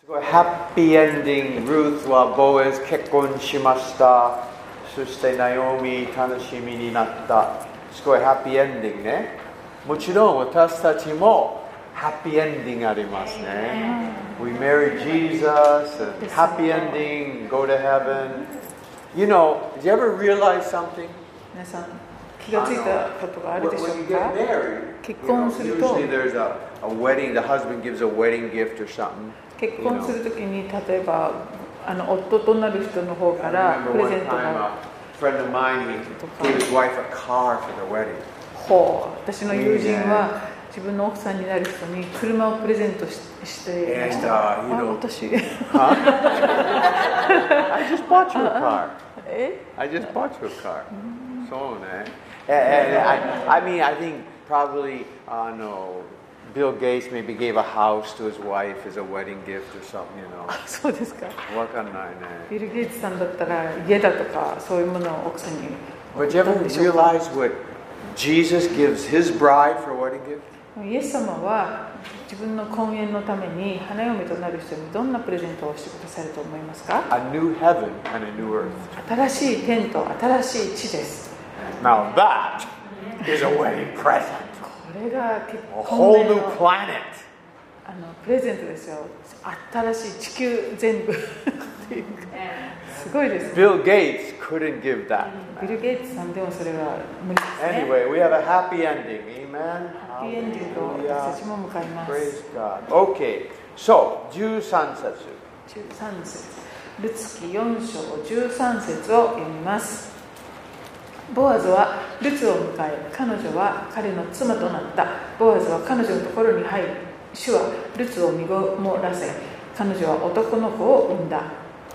ハッピーエンディング、ルーツはボエズ結婚しました。そしてナオミ楽しみになった。すごいハッピーエンディングね。もちろん私たちもハッピーエンディングありますね。We marry Jesus, happy ending, go to heaven. You know, did you ever realize something? 皆さん気がついたことがあるでしょう When you か get married, 結婚すると usually there's a wedding, the husband gives a wedding gift or something. 結婚するときに例えば夫となる人の方から I プレ remember ゼ one ント time が a friend of mine, he gave his wife a car for the wedding. 私の友人は自分の奥さんになる人に車をプレゼントしていました。私 I just bought you a car. I just bought you a car. So, I mean, I think probably, Bill Gates maybe gave a house to his wife as a wedding gift or something, you know. そうですか。 わかんないね。 ビル・ゲイツさんだったら家だとかそういうものを奥さんに But you ever realize what Jesus gives his bride for a wedding gift? イエス様は自分の婚宴のために花嫁となる人にどんなプレゼントをしてくださると思いますか？ A new heaven and a new earth. 新しい天と新しい地です。 Now that is a wedding present. これが結 A 婚 whole の new planet. プレゼントですよ。新しい地球全部っていうかすごいです、ね。 Bill Gates couldn't give that. ビル・ゲイツさんでもそれは無理ですね。 Anyway, we have a happy ending. Amen. ハッピーエンディングを私たちも迎えます。 Praise God. Okay. So, 13節。 13節。ルツキ4章13節を読みます。ボアズはルツを迎え、彼女は彼の妻となった。ボアズは彼女のところに入り、主はルツを身ごもらせ、彼女は男の子を産んだ。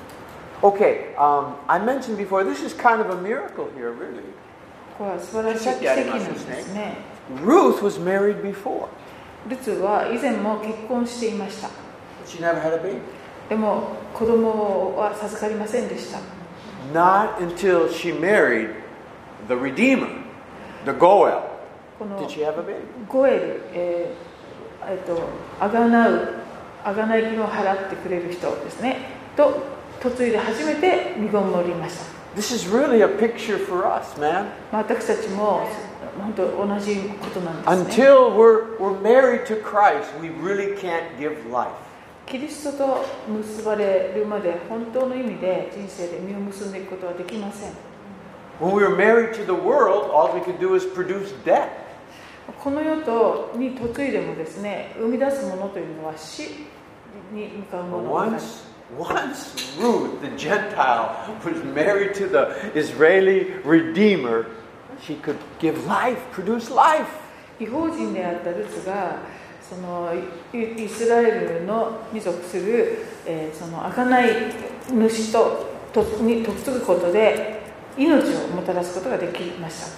Okay, I mentioned before, this is kind of a miracle here, really. これは素晴らしい奇跡なんですね。 Ruth was married before. ルツは以前も結婚していました。 She never had a baby. でも子供は授かりませんでした。 Not until she married the Redeemer, the Goel. この Did she have a baby? ゴエル、あがない金を払ってくれる人ですね。と嫁いで初めて身ごもりました。 This is really a picture for us, man. 私たちも本当同じことなんですね。 Until we're married to Christ, we really can't give life. キリストと結ばれるまで本当の意味で人生で実を結んでいくことはできません。 When we were married to the world, all we could do is produce death. この世とに嫁いでもですね、生み出すものというのは死に向かうものばかり。 Once Ruth, the Gentile, was married to the Israeli Redeemer, she could give life, produce life. 異邦人であったルツがそのイスラエルのに属する、その贖い主に嫁ぐことで命をもたらすことができました。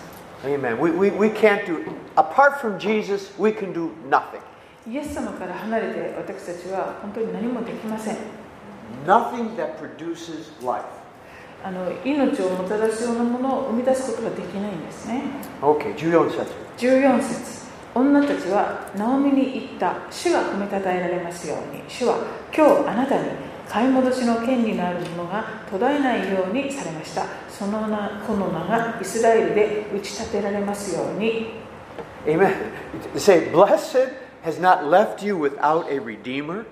Amen. We can't do, apart from Jesus, we can do nothing. イエス様から離れて私たちは本当に何もできません。 Nothing that produces life. 命をもたらすようなものを生み出すことができないんですね。 Okay, 14節。 14節。女たちはナオミに言った。主が褒めたたえられますように。主は今日あなたに買い戻しの権利のあるものが途絶えないようにされました。この名がイスラエルで打ち立てられますように。 Amen. Say, blessed has not left you without a redeemer.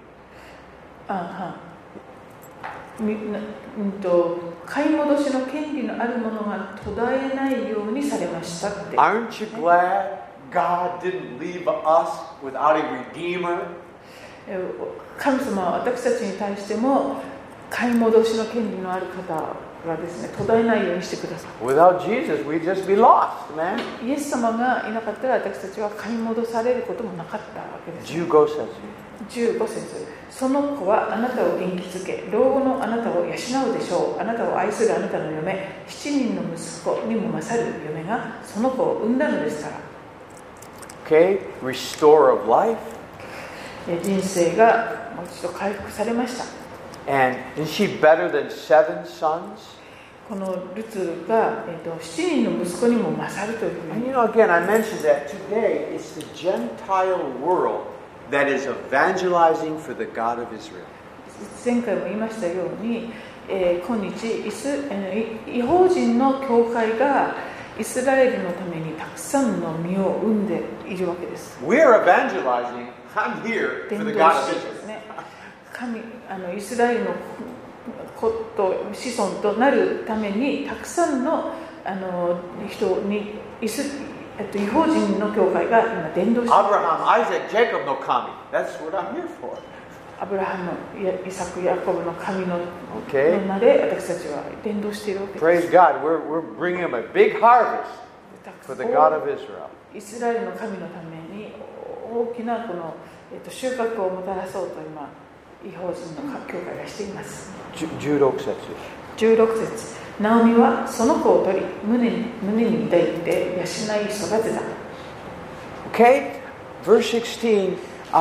買い戻しの権利のあるものが途絶えないようにされましたって。 Aren't you glad God didn't leave us without a redeemer? 神様は私たちに対しても買い戻しの権利のある方がですね、途絶えないようにしてください。 Without Jesus, we'd just be lost, man. イエス様がいなかったら私たちは買い戻されることもなかったわけです。 15節。 15節。その子はあなたを元気づけ、老後のあなたを養うでしょう。あなたを愛するあなたの嫁、7人の息子にも勝る嫁がその子を産んだのですから。 Okay, restore of life. 人生がもう一度回復されました。 And is she better than 7 sons? このルツが、7人の息子にも勝るというふうに。 And you know, again, I mentioned that today it's the Gentile world that is evangelizing for the God of Israel. 前回も言いましたように、今日異邦人の教会がイスラエルのためにたくさんの実を生んでいるわけです。 We are evangelizing. I'm here for the God of Israel. イスラエルの子孫となるためにたくさんの人に異邦人の教会が今伝道しています。 Abraham, Isaac, Jacob no kami. That's what I'm here for. アブラハム、イサク、ヤコブの神の名で私たちは伝道しているわけです。 Praise God. We're bringing him a big harvest for the God of Israel. イスラエルの神のために大きなこの収穫をもたらそうと今異邦人の教会がしています。 16節。 16節。ナオミはその子を取り胸に抱いて養い育てた。 Okay, verse 16.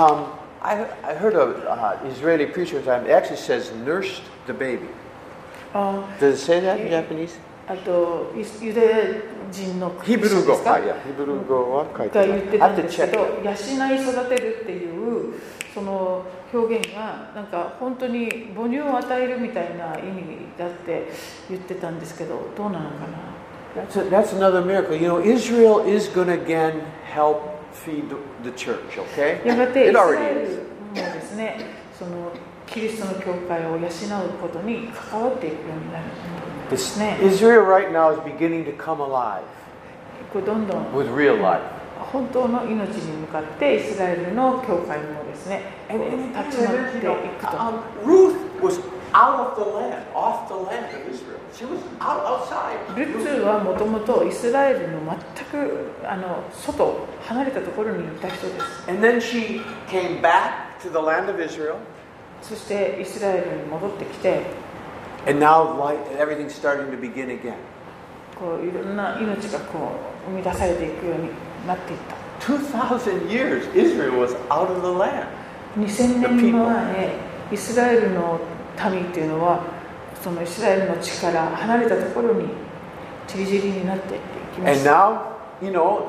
I heard an Israeli preacher one time. It actually says nursed the baby. Does it say that in Japanese? あとユダヤ人のヒブル語は書いてある。 が言ってたんですけど、養い育てるっていうその表現がなんか本当に母乳を与えるみたいな意味だって言ってたんですけど、どうなのかな。 That's another miracle. You know, Israel is going to again help feed the church, okay? やがてイスラエルもですね、そのキリストの教会を養うことに関わっていくようになるんですね。 Israel right now is beginning to come alive どんどん with real life. 本当の命に向かってイスラエルの教会もですね、立ち直っていくと。 Ruth was out of the land, off the land of Israel. She was outside. ルツはもともとイスラエルの全く外、離れたところにいた人です。 And then she came back to the land of Israel. そしてイスラエルに戻ってきて、 And now everything's starting to begin again. こういろんな命がこう生み出されていくようになっていった。 2,000 years, Israel was out of the land. 2000年前、イスラエルの民っていうのはそのイスラエルの地から離れたところに散り散りになっていきました。 And now,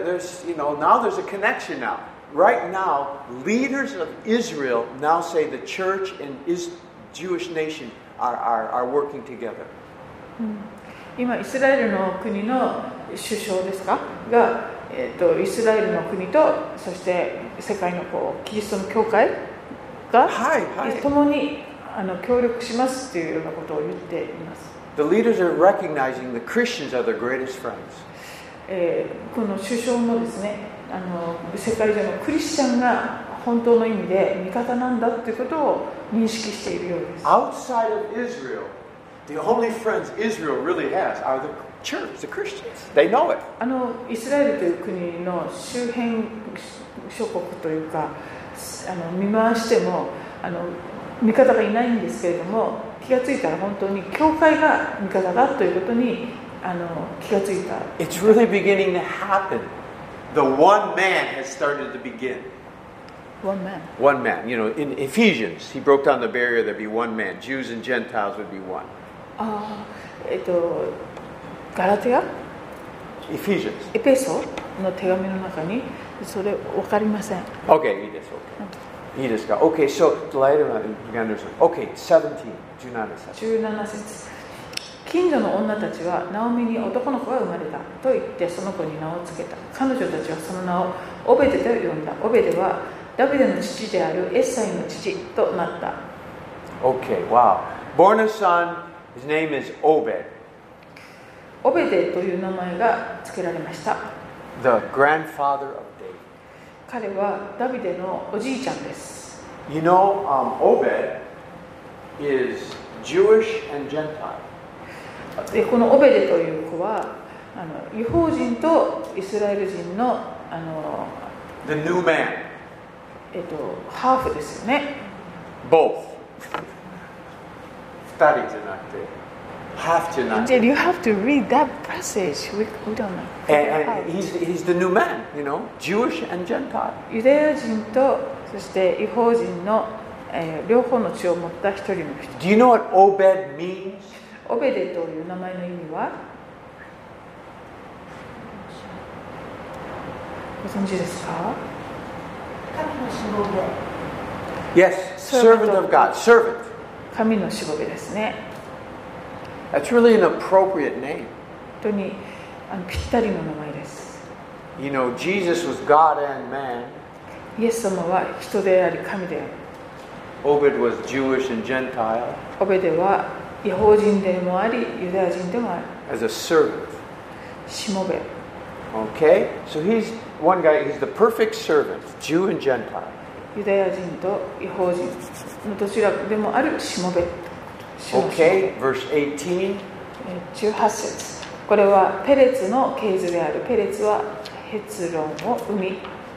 now there's a connection now. Right now, leaders of Israel now say the church and Jewish nation are working together. 今イスラエルの国の首相ですかが、イスラエルの国とそして世界のキリストの教会が共に協力しますというようなことを言っています。 The leaders are recognizing the Christians are their greatest friends. この首相もですね、世界中のクリスチャンが本当の意味で味方なんだということを認識しているようです。 Outside of Israel, the only friends Israel really has are the church, the Christians. They know it. イスラエルという国の周辺諸国というか、見回しても味方がいないんですけれども、気がついたら本当に教会が味方だということに気がついた。 It's really beginning to happen. The one man has started to begin. One man. One man. You know, in Ephesians, he broke down the barrier. There'd be one man. Jews and Gentiles would be one. ガラテア Ephesians. エペソの手紙の中にそれ分かりません。 Okay, いいです。Okay. いいですか? Okay, so, okay, 17節。 近所の女たちはナオミに男の子が生まれたと言ってその子に名を付けた。彼女たちはその名をオベデと呼んだ。オベデはダビデの父であるエッサイの父となった。 Okay, wow. Born a son, his name is Obed. オベデという名前が付けられました。 The grandfather of David. 彼はダビデのおじいちゃんです。 You know, Obed is Jewish and Gentile. でこのオベデという子は異邦人とイスラエル人の The new man. ハーフですよね。 Both. 二人じゃなくて、half じゃなくて。 You have to read that passage. We don't know. And he's the new man, you know, Jewish and Gentile. ユダヤ人とそして異邦人の、両方の血を持った一人の人。 Do you know what Obed means? オベデという名前の意味はご存知ですか？ 神のしもべ。 Yes, servant of God. Servant. 神のしもべですね。 That's really an appropriate name. 本当にぴったりの名前です。 You know, Jesus was God and man. イエス様は人であり神である。 Obed was Jewish and Gentile. オベデは違法人でもありユダヤ人でもある。 As a servant. しもべ。 Okay? So he's one guy, he's the perfect servant, Jew and Gentile. ユダヤ人と違法人のどちらでもあるしもべ。 Okay, verse 18. 18節。これはペレツの系図である。ペレツはヘツロンを生み。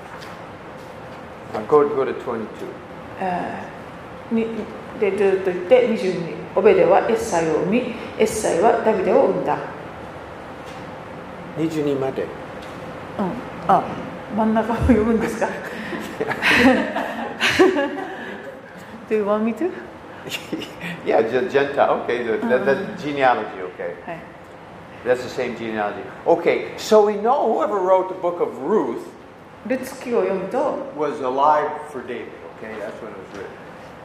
Go to 22. でずっと言って22。オベデはエッサイを生み、エッサイはダビデを生んだ。 22まで。 真ん中を読むんですかDo you want me to? Yeah, Gentile. Okay, that's genealogy. Okay, that's the same genealogy. Okay, so we know whoever wrote the book of Ruth ルツ記を読むと was alive for David. Okay, that's when it was written.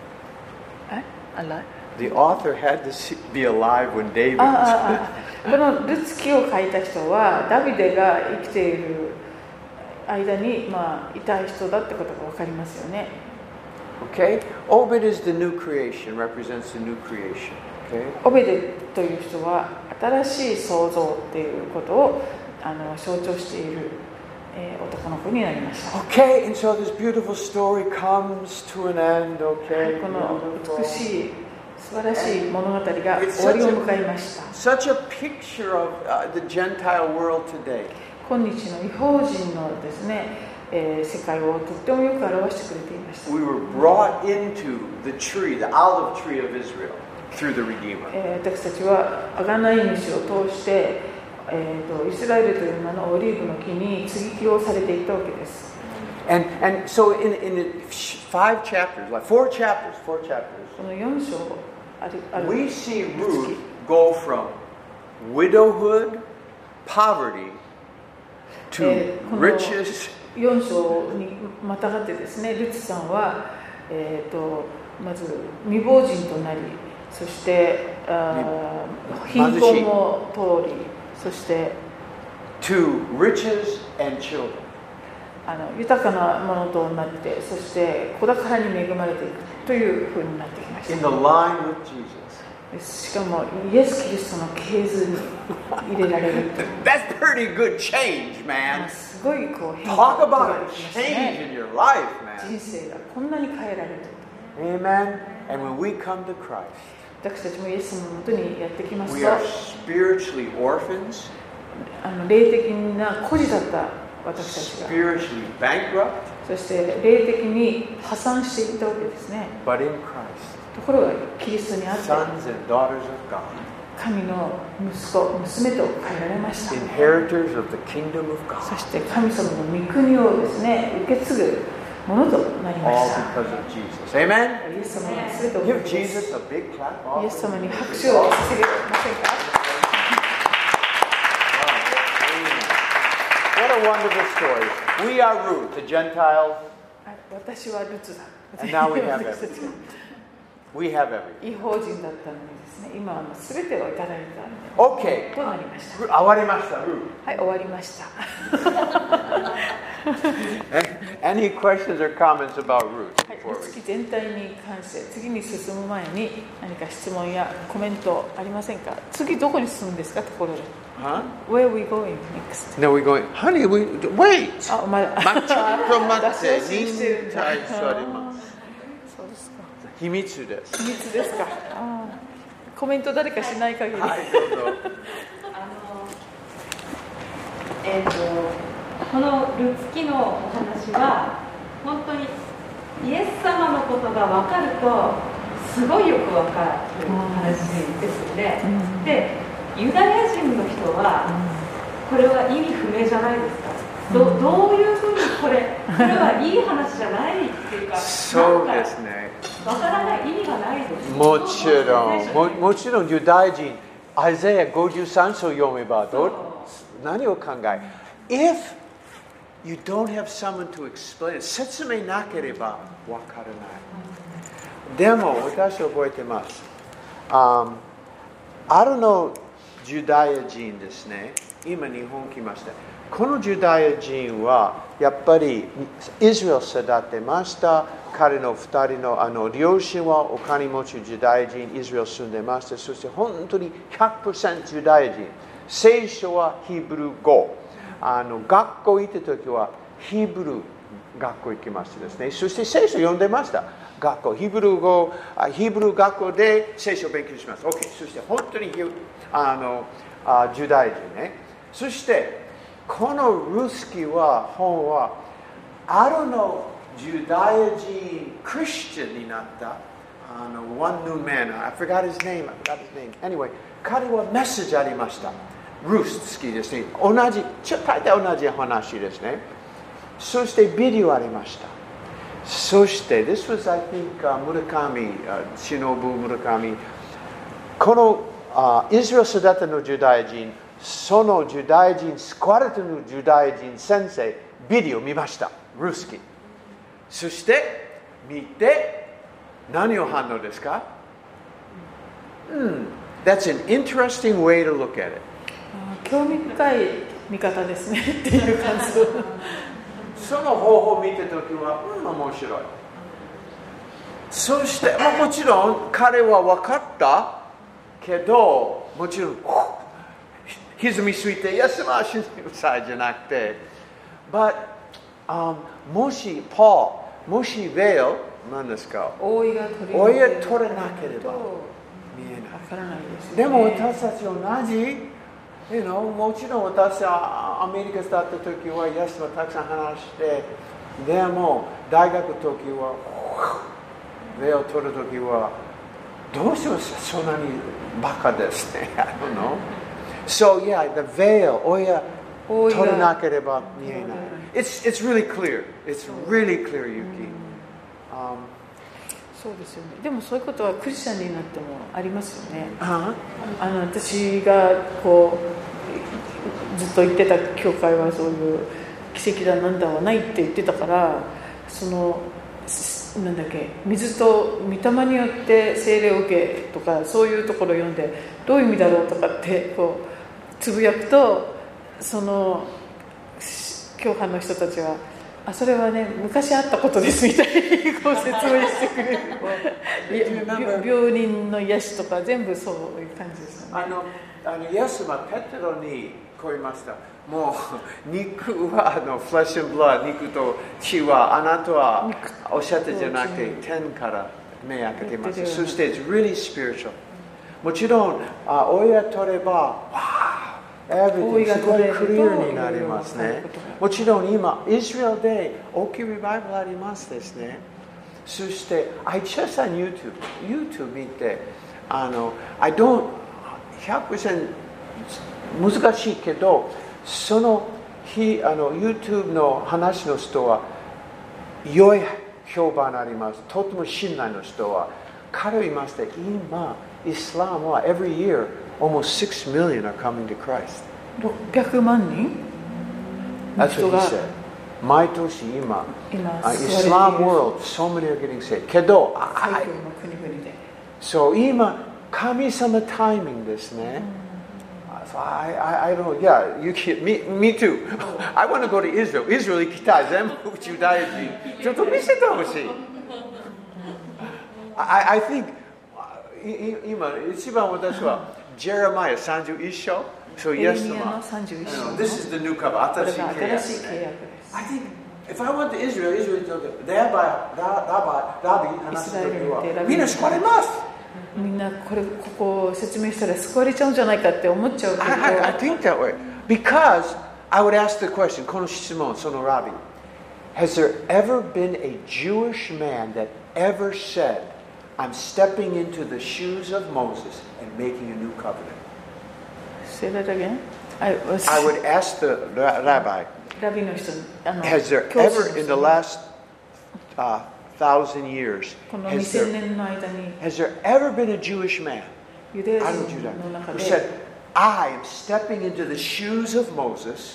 The author had to be alive when David. このルツ記を書いた人はダビデが生きている間にいた人だってことが分かりますよね。 Okay, Obed is the new creation, represents the new creation. Okay. オベデという人は新しい創造っていうことを象徴している、男の子になりました。 Okay, and so this beautiful story comes to an end. Okay. この美しい素晴らしい物語が終わりを迎えました。 Such a picture of the Gentile world today. 今日の異邦人のですね、世界をとってもよく表してくれていました。 We were brought into the tree, the olive tree of Israel, through the Redeemer. 私たちは贖い主を通して、イスラエルという名のオリーブの木に接ぎ木をされていったわけです。 And so in 5 chapters, like 4 chapters, この4章ある we see Ruth go from widowhood, poverty, to riches. 4章にまたがってですね、ルツさんは、まず未亡人となり、そして貧困も通り、そして to riches and children. 豊かなものとなって、そして子宝に恵まれていくというふうになってきました。 In the line with Jesus. しかもイエス・キリストの系図に入れられる。 That's pretty good change, man. すごい変化 Talk が about できま a したね。 change in your life, man. 人生がこんなに変えられる。 Amen. And when we come to Christ, 私たちもイエスのもとにやってきますと、 we are spiritually orphans, 霊的な孤児だった私たちが、 spiritually bankrupt, そして霊的に破産していったわけですね。 but in Christ, ところがキリストにあって sons and daughters of God, 神の息子、娘と変えられました。 inheritors of the kingdom of そ God, して神様の御国をですね、受け継ぐものとなりま all した。 because of Jesus. Amen. イエス様に全てを Give Jesus a big clap. イエス様に拍手を捧げませんか？ What a wonderful story. We are Ruth, the Gentiles. 私はルツだ。 And now we have everything. We have everything. 違法人だったのにですね、今は全てをいただいた Okay. となりました。 終わりました、Ruth. はい、終わりました。 Any questions or comments about Ruth? はい、 before ル we- ツ記全体に関して次に進む前に何か質問やコメントありませんか？次どこに進むんですか？ところで。 Huh? Where are we going next? No, we're going, honey, wait! あ、まだ。 ちょっと待って、 脱線してるんだ。 忍耐しております。 そうですか。 秘密です。 秘密ですか。コメント誰かしない限り。 はい、どうぞ。 このルツ記のお話は本当にイエス様のことが分かるとすごいよく分かる話ですよね。で、ユダヤ人の人はこれは意味不明じゃないですか。どういうふうにこれはいい話じゃないっていうか、 そうですね。 分からない意味がないです。 もちろんユダヤ人、アイザヤ53章読めば何を考え If you don't have someone to explain it, 説明なければわからない。 でも私覚えてます。あるのユダヤ人ですね。今日本来ました。このユダヤ人はやっぱりイスラエル育てました。彼の2人の両親はお金持ちユダヤ人、イスラエル住んでました。そして本当に 100% ユダヤ人。聖書はヒブル語。学校行った時はヒブル学校行きましたですね。そして聖書読んでました。学校、ヒブル学校で聖書を勉強します。OK。そして本当にユダヤ人ね。そしてこのルスキは本はあるのユダヤ人クリスチャンになったone new man. I forgot his name. Anyway、彼はメッセージありました。ルス好きですね。大体同じ話ですね。そしてビデオありました。そして、This was, I think, 村上、忍村上。このイスラエル育てのユダヤ人、そのユダヤ人、救われたのユダヤ人先生、ビデオ見ました。ルスキ。そして、見て、何を反応ですか？ That's an interesting way to look at it. 興味深い見方ですねっていう感想。 その方法を見たときは、面白い。そして、もちろん彼は分かったけど、もちろん、歪みついて、イエス様は信じてくださいじゃなくて、But、もしベール、何ですか？覆いが取れなければ見えない。でも私たち同じ。もちろん私はアメリカだった時はイエス様たくさん話して、でも大学の時はベールを取る時はどうしてもそんなにバカですね。I don't know. So yeah, the veil 覆い取れなければ見えない。It's really clear. It's really clear, Yuki. そうですよね。でもそういうことはクリスチャンになってもありますよね。私がこうずっと言ってた教会はそういう奇跡だなんだはないって言ってたから、なんだっけ、水と御霊によって聖霊を受けとかそういうところを読んでどういう意味だろうとかってこうつぶやくと、その教派の人たちはそれはね昔あったことですみたいにこう説明してくれる病人の癒しとか全部そういう感じですよね。 イエスはペテロにこう言いました。もう肉はフレッシュブラッド、肉と血はあなたはおっしゃってじゃなくて天から目開けています。そして it's really spiritual。もちろん親取ればEverything すごいクリアになりますね。もちろん今、イスラエルで大きいリバイバルありますですね。そして、I just on YouTube 見て、I don't 100% 難しいけど、そのYouTube の話の人は良い評判あります。とても信頼の人は。彼は言いました。今、イスラムは every year almost 6 million are coming to Christ. 600万人 That's what he said. 毎年今、Islam world, so many are getting saved. けど、そう、今、神様タイミングですね。So I don't know, yeah, me too. I want to go to Israel. Israel 行きたい。全部ユダヤ人。ちょっと見せてほしい。I think, 今、一番私は、Jeremiah 31章。So yes, this is the new covenant. I think if I went to Israel,みんな救われます。 みんなここを説明したら救われちゃうんじゃないかって思っちゃうけど。 I think that way because I would ask the question. この質問、そのラビ。Has there ever been a Jewish man that ever said, "I'm stepping into the shoes of Moses and making a new covenant"? Say that again. I would ask the rabbi, has there ever in the last 1,000 years, has there ever been a Jewish man who said, I am stepping into the shoes of Moses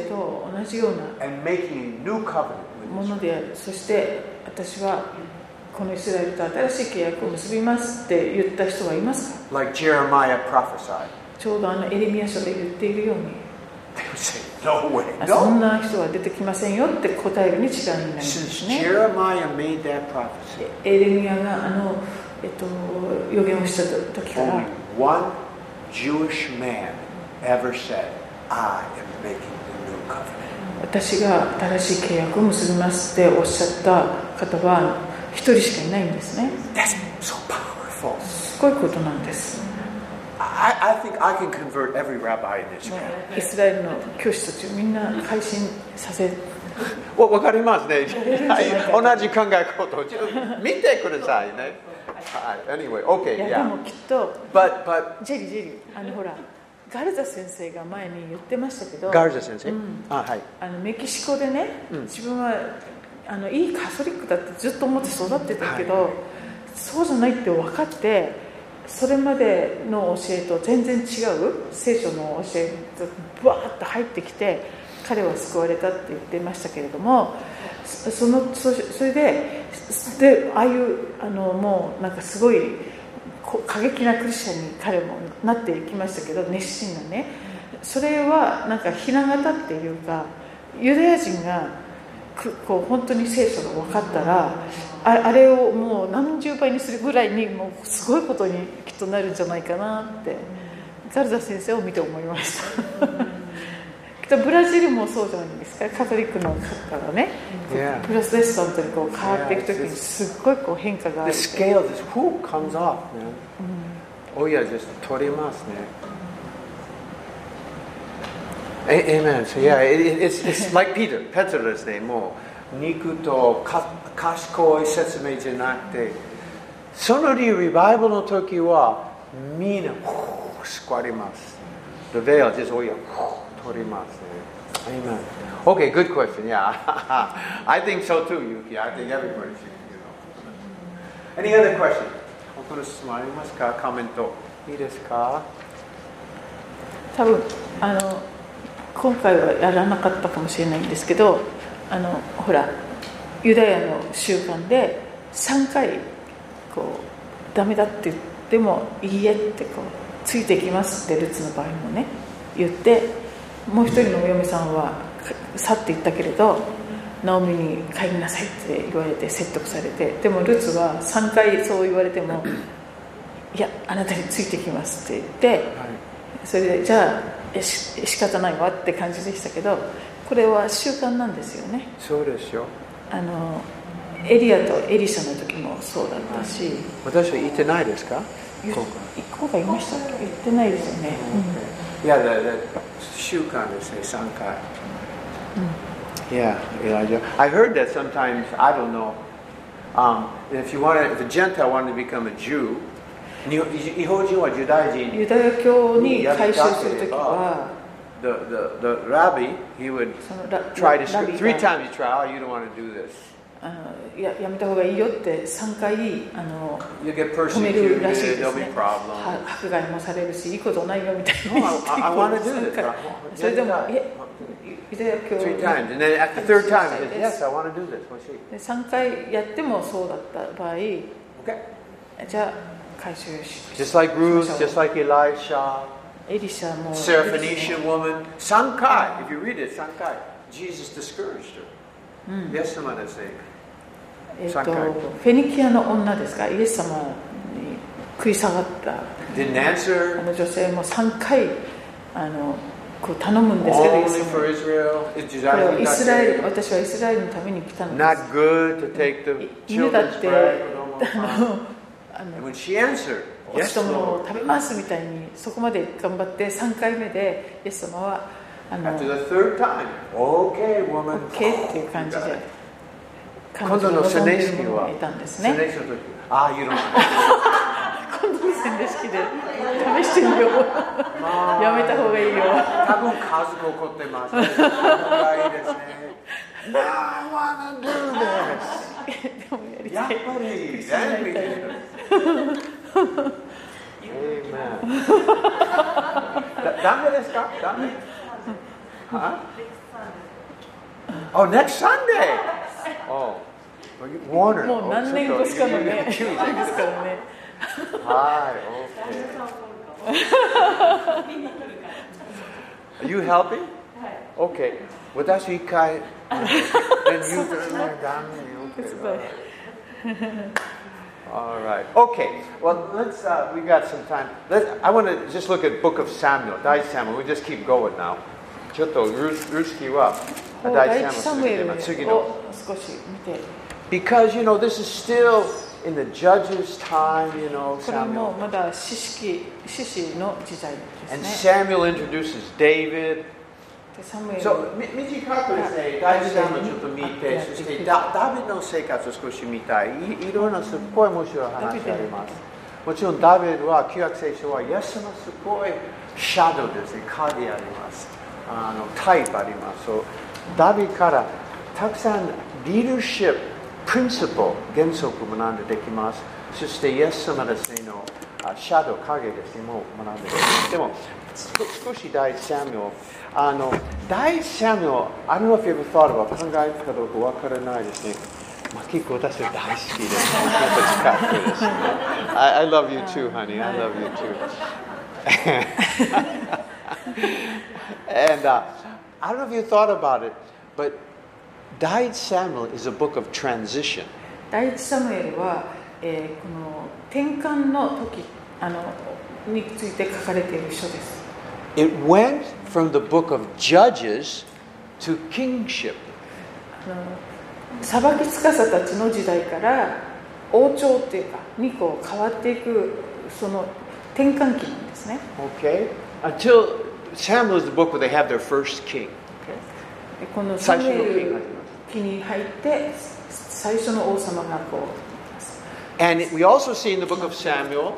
and making a new covenant with Israel? このイスラエルと新しい契約を結びますって言った人はいますか？ Like Jeremiah prophesied. ちょうどエレミヤ書で言っているように、 They would say, no way, そん no. な人は出てきませんよって答えるに違いになります Since ね。 Jeremiah made that prophecy, エレミヤが予言をした時から only one Jewish man ever said, I am making the new covenant. 私が新しい契約を結びますっておっしゃった方は一人しかいないんですね。 That's so powerful. すごいことなんです。 I think I can convert every rabbi in Israel. イスラエルの教師たちをみんな改心させる。 わかりますね。同じ考え方を見てくださいね。Anyway, い okay, やで yeah. もきっと But ジェリーほらガルザ先生が前に言ってましたけど、 Garza 先生、はい。 メキシコでね、自分はいいカトリックだってずっと思って育ってたけど、そうじゃないって分かって、それまでの教えと全然違う聖書の教えがバーッと入ってきて、彼は救われたって言ってましたけれども、それでああいうもうなんかすごい過激なクリスチャンに彼もなっていきましたけど、熱心なね、それはなんかひな形っていうか、ユダヤ人がこう本当に聖書が分かったら、あれをもう何十倍にするぐらいにもうすごいことにきっとなるんじゃないかなってガルザ先生を見て思いましたきっとブラジルもそうじゃないですか、カトリックの方がね、プロテスタントにこう変わっていくときにすっごいこう変化がある。 The scale just comes off, man. Oh yeah, just 取りますね。Amen. So yeah, it's like Peter. ペテロですね。もう肉と賢い説明じゃなくて、そのリバイバルの時はみんな救われます。The veil just 取りますね。Amen. Okay, good question. Yeah, I think so too, Yuki. I think everybody should, Any other question? 他の質問ありますか？コメントいいですか？ 多分今回はやらなかったかもしれないんですけど、ほらユダヤの習慣で3回こうダメだって言ってもいいえってこうついていきますってルツの場合もね言って、もう一人のお嫁さんは去っていったけれどナオミに帰りなさいって言われて説得されて、でもルツは3回そう言われてもいやあなたについてきますって言って、それでじゃあ仕方ないわって感じでしたけど、これは習慣なんですよね。 そうですよ。 エリアとエリシャの時もそうだったし、 私は言ってないですか？ 今回言いましたっけ？言ってないですよね。 いや、習慣ですね、3回。Yeah, Elijah. I heard that sometimes, I don't know, if a Gentile wanted to become a Jew, 日本人はユダヤ人ユダヤ教に改宗するときは、 the rabbi, he would try to, 3 times he tried, oh, you don't want to do this. やめた方がいいよって3回止めるらしいですね。 problem. 迫害もされるし、いいことないよみたいな。I want to do this. それでも、ユダヤ教 3 times. And then at the third time, he said, yes, I want to do this. 3回やってもそうだった場合、 Okay. じゃあ、回収し Just like Ruth, just like Elisha, エリシャも Syrophoenician woman, 3回, if you read it, 3回, Jesus discouraged her. イエス様ですね。 フェニキアの女ですか、イエス様に食い下がった女性も3回こう頼むんですけど、イエス様これはイスラエル、私はイスラエルのために来たのです。犬だってお人も食べますみたいにそこまで頑張って3回目でイエス様はOK っていう感じで今度の洗礼式は今度の洗礼式で試してみようやめた方がいいよ多分数が起こってます。やめた方がいいですね。Now I wanna do this. でもやりたい。 やっぱり全部いいです。ダメですか？ダメ。Oh, next Sunday. Oh, Warner. もう何年越しかのね、ですからね。 はい、OK。Are you helping? Okay. 私一回。And you All right. Okay. Well, let's. We got some time. I want to just look at Book of Samuel. 第一 Samuel. We just keep going now. ちょっとルースキーは第一 Samuel 次の。 少し見て。 Because this is still in the judges' time. これもまだ士師の時代ですね。 And Samuel introduces David. So 短くですね、第一 Samuel ちょっと見て、そしてダビデの生活を少し見たい。いろんなすっごい面白い話があります。もちろんダビデは旧約聖書はイエス様すごいシャドウですね、影あります。タイプあります。ダビデからたくさんリーダーシップ、プリンシプル、原則を学んでできます。そしてイエス様ですねのシャドウ、影ですね、も学んでできます。でも少し第一 Samuel。第一 Samuel, I don't know if you ever thought about 考えるかどうかわからないですね。結構私は大好きです。近くですね。I love you too, honey. I love you too. And I don't know if you thought about it, but 第一 Samuel is a book of transition. 第一サムエルは、この転換の時について書かれている書です。 It went from the book of Judges to kingship. 裁き司たちの時代から王朝っていうかにこう変わっていくその転換期なんですね。 Okay. Until Samuel is the book where they have their first king. このサムエル期に入って最初の王様がこう。 And we also see in the book of Samuel,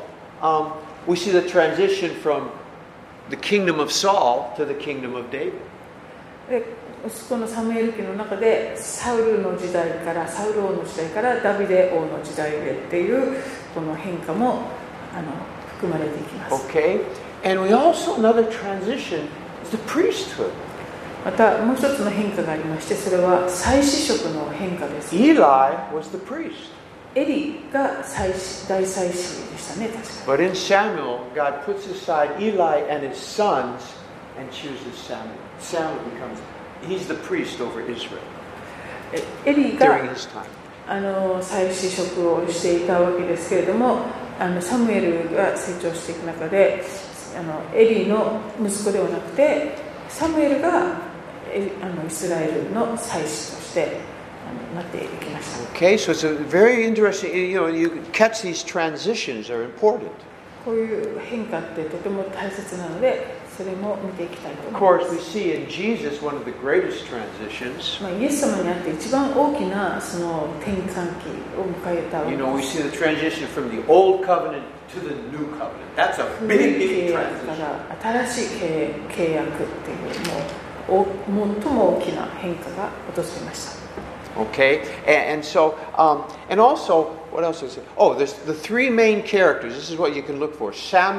we see the transition from the kingdom of Saul to the kingdom of David. でこのサムエル記の中でサウルの時代からサウル王の時代からダビデ王の時代へっていうこの変化も含まれていきます。 Okay, and we also another transition is the priesthood. またもう一つの変化がありまして、それは祭司職の変化です。 Eli was the priest. エリが大祭司でしたね、確か。 But in Samuel, God puts aside Eli and his sons and chooses Samuel. Samuel becomes.He's the priest over Israel エリ during が his time. 祭司職をしていたわけですけれども、サムエルが成長していく中でエリの息子ではなくてサムエルがイスラエルの祭司としてなっていきました。 Okay, so it's a very interesting. You catch these transitions are important. こういう変化ってとても大切なので。それも見ていきたいと思います。 Of course, we see in Jesus one of the greatest transitions. イエス様にあって一番大きなその転換期を迎えたわけです。 We see the transition from the old covenant to the new covenant. That's a big, big transition. 新しい契約っていうもう最も大きな変化が訪れました。 Okay, and so, and also, what else is it? Oh, there's the three main characters. This is what you can look for: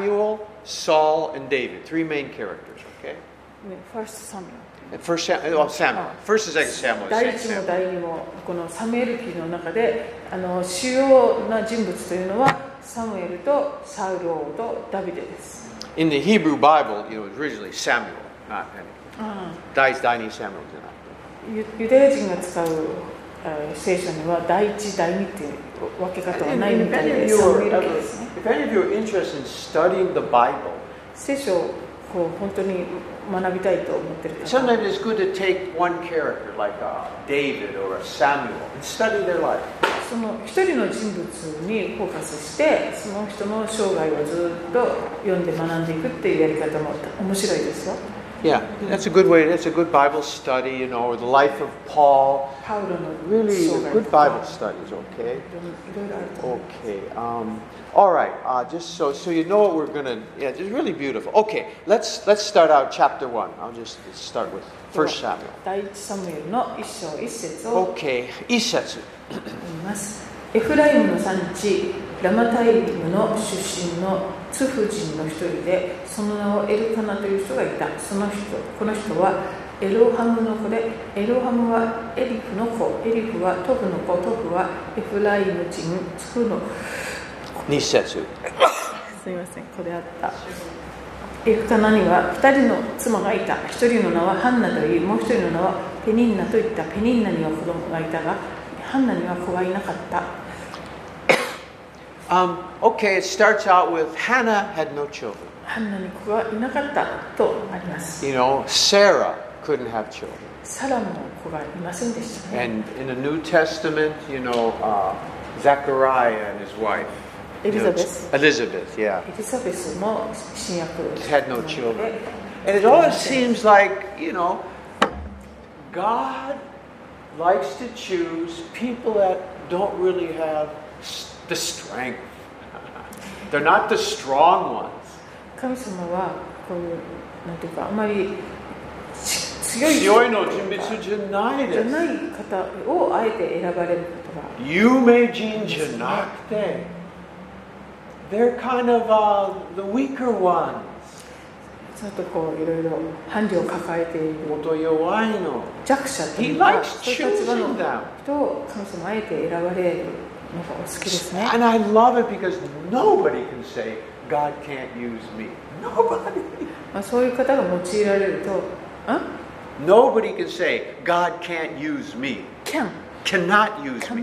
Samuel.Saul and David, three main characters, okay? First Samuel. Samuel. First and second Samuel. 第一も第二もこのサムエル記の中で主要な人物というのはサムエルとサウル王とダビデです。 In the Hebrew Bible, originally Samuel, not any. 第一、第二 Samuel じゃない。 ユダヤ人が使う聖書には第一、第二っていう分け方はないみたいで、サムエル記ですね。 If any of you are interested in studying the Bible, 聖書を本当に学びたいと思っている方、 sometimes it's good to take one character like David or Samuel and study their life. その一人の人物にフォーカスして、その人の生涯をずっと読んで学んでいくっていうやり方も面白いですよ。 Yeah, that's a good way. That's a good Bible study, or the life of Paul. Really good Bible studies, okay? Okay. All right. Just so you know what we're gonna. Yeah, it's really beautiful. Okay, let's start out chapter 1. I'll just start with 1 Samuel. 第一サムエルの一章一節を Okay, 一節。 読みます。エフライムの産地ラマタイムの出身のツフ人の一人で、その名をエルカナという人がいた。この人はエロハムの子で、エロハムはエリフの子、エリフはトフの子、トフはエフライム人、ツクの 2節。 すみません、これあった。エルカナには2人の妻がいた。1人の名はハンナといい、もう1人の名はペニンナといった。ペニンナには子供がいたが、ハンナには子がいなかった。 Okay, it starts out with Hannah had no children. ハンナに子がいなかったとあります。 You know, Sarah couldn't have children. サラも子がいませんでしたね。 And in the New Testament, you know, Zechariah and his wife. Elizabeth. Elizabeth, yeah. エリザベスも新約 Had no children. And it always seems like, you know, God likes to choose people that don't really have the strength. They're not the strong ones. 神様はこういうなんていうかあまり強いの人物じゃないです。 じゃない方をあえて選ばれることが。 有名人じゃなくて、they're kind of the weaker ones. ちょっとこういろいろ伴侶を抱えているもっと弱いの。 弱者という He か likes そういう立場の choosing them. 人を神様あえて選ばれるのがお好きですね。 And I love it because nobody can say God can't use me. Nobody. まあそういう方が用いられると、 Nobody can say God can't use me. Cannot use me.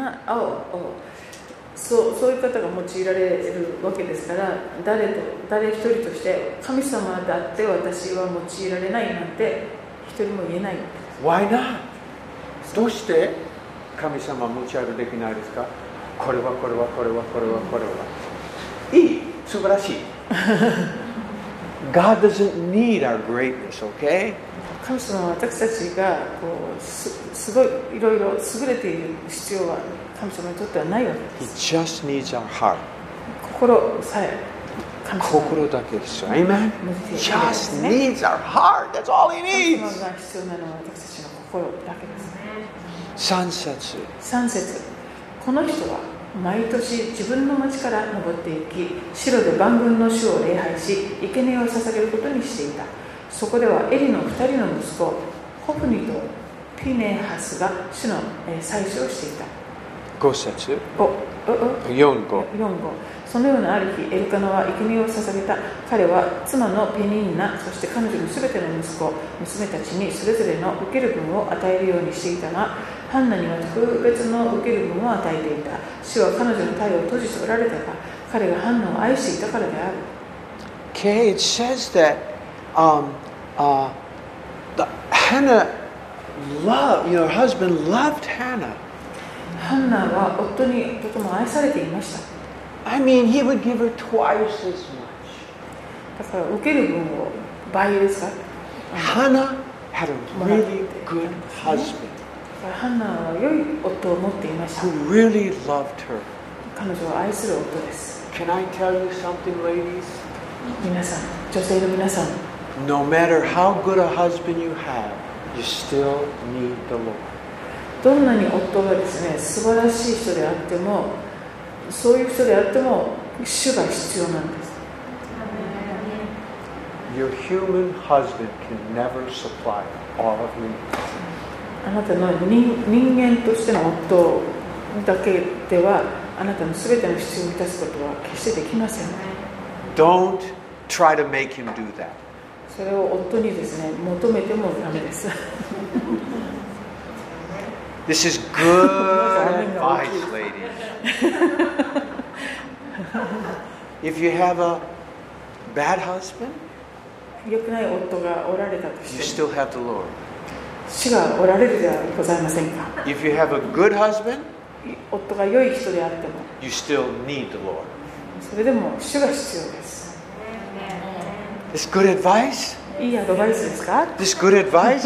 そういう方が用いられるわけですから、誰一人として神様だって私は用いられないなんて一人も言えない。 Why not? どうして神様持ち上げできないですか？これはこれはこれはこれはこれは。いい、素晴らしい。God doesn't need our greatness, okay? 神様は私たちがこうすごいいろいろ優れている必要は神様にとってはないわけです。 He just needs our heart. 心さえ神様心だけですよ。Amen? Just needs our heart. That's all he 神 needs. 様が必要なのは私たちの心だけですね。 3節。 3節。この人は毎年自分の町から登っていき、城で万軍の主を礼拝し、生贄を捧げることにしていた。そこではエリの2人の息子、ホフニとピネハスが主の祭司をしていた。 5節。 4号。そのようなある日、エルカナは生贄を捧げた。彼は妻のペニンナ、そして彼女のすべての息子、娘たちにそれぞれの受ける分を与えるようにしていたが、ハンナには特別の受ける分を与えていた。主は彼女の体を閉じておられたが、彼がハンナを愛していたからである。 Okay, it says that Hannah loved, her husband loved Hannah. ハンナは夫にとても愛されていました。 I mean, he would give her twice as much. だから受ける分を倍ですか。 Hannah had a really good husband ハンナは良い夫を持っていました。 who really loved her. 彼女を愛する夫です。 Can I tell you something, ladies? 皆さん、女性の皆さん、 No matter how good a husband you have, you still need the Lord. どんなに夫がですね、素晴らしい人であっても、そういう人であっても主が必要なんです。 Your human husband can never supply all of your needs. あなたの人間としての夫だけではあなたのすべての必要を満たすことは決してできません。 Don't try to make him do that. それを夫にですね、求めてもダメです。 This is good advice, ladies. If you have a bad husband, 良くない夫がおられたと you しても still have the Lord. 主がおられるではございませんか。 If you have a good husband, 夫が良い人であっても you still need the Lord. それでも主が必要です。 This good advice? いいアドバイスですか。 This good advice?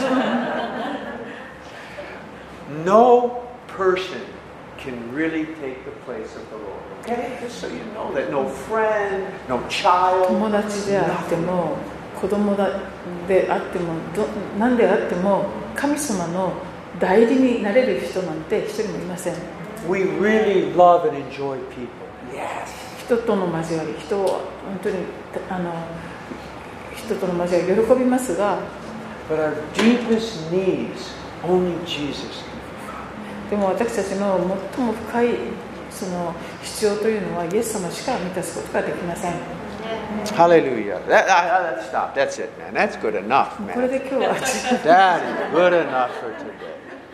No person can really take the place of the Lord. Okay? Just so you know that no friend, no child, 友達であっても子供であっても何であっても神様の代理になれる人なんて一人もいません。 we really love and enjoy people. Yes. 人との交わり、人を本当に人との交わり喜びますが、 But our deepest needs, only Jesus can. でも私たちの最も深いその必要というのはイエス様しか満たすことができません。 Hallelujah. Let's stop. That's it, man. That's good enough, これ man. で今日は That is good enough for today.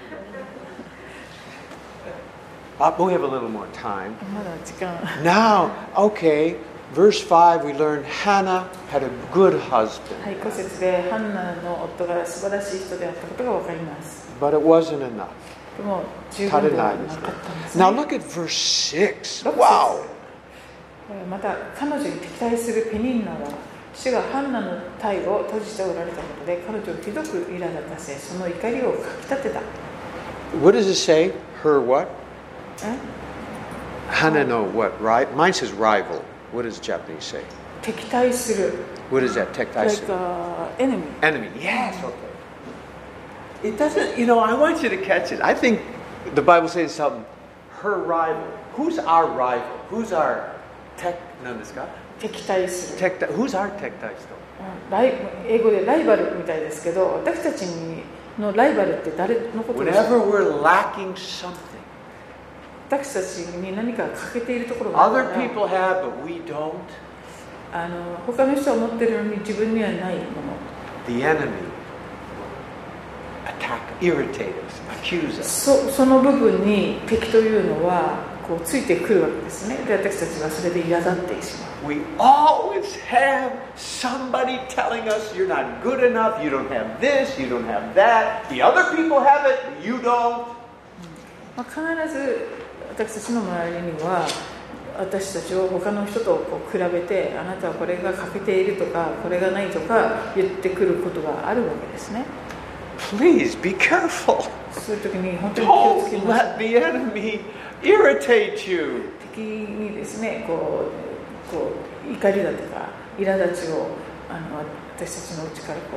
But we have a little more time. まだ時間 Now, okay, verse 5, we learned Hannah had a good husband. はい、5節でハンナの夫が素晴らしい人であったことが分かります。 But it wasn't enough. でも十分ではなかったんですね。 Now look at verse 6. 6節 Wow. また彼女に敵対するペニンナは主がハンナの体を閉じておられたことで彼女をひどく苛立たせその怒りをかき立てた。 What does it say? Her what? え Hannah, no, what? Right? Mine says rival. What does Japanese say? 敵対する What is that? like Tektaisu. enemy Enemy. Yes, okay. It doesn't, I want you to catch it. I think the Bible says something. Her rival. Who's our rival? Who's our 敵対する Who's our tektaisu? 英語でライバルみたいですけど私たちのライバルって誰のことでしょう Whenever we're lacking something. 私たちに何か欠けているところがある Other から people have, but we don't. 他の人は持ってるのに自分にはないもの The enemy attack, irritate us, accuse us. その部分に敵というのはこうついてくるわけですね。で私たちはそれで苛立ってしまう。 We always have somebody telling us you're not good enough, you don't have this, you don't have that. The other people have it, you don't. 必ず私たちの周りには私たちを他の人とこう比べてあなたはこれが欠けているとかこれがないとか言ってくることがあるわけですね。 Please be careful. そういう時に本当に気をつけ Don't ましょ let the enemy irritate you. う。敵にですねこう怒りだとか苛立ちを私たちのうちから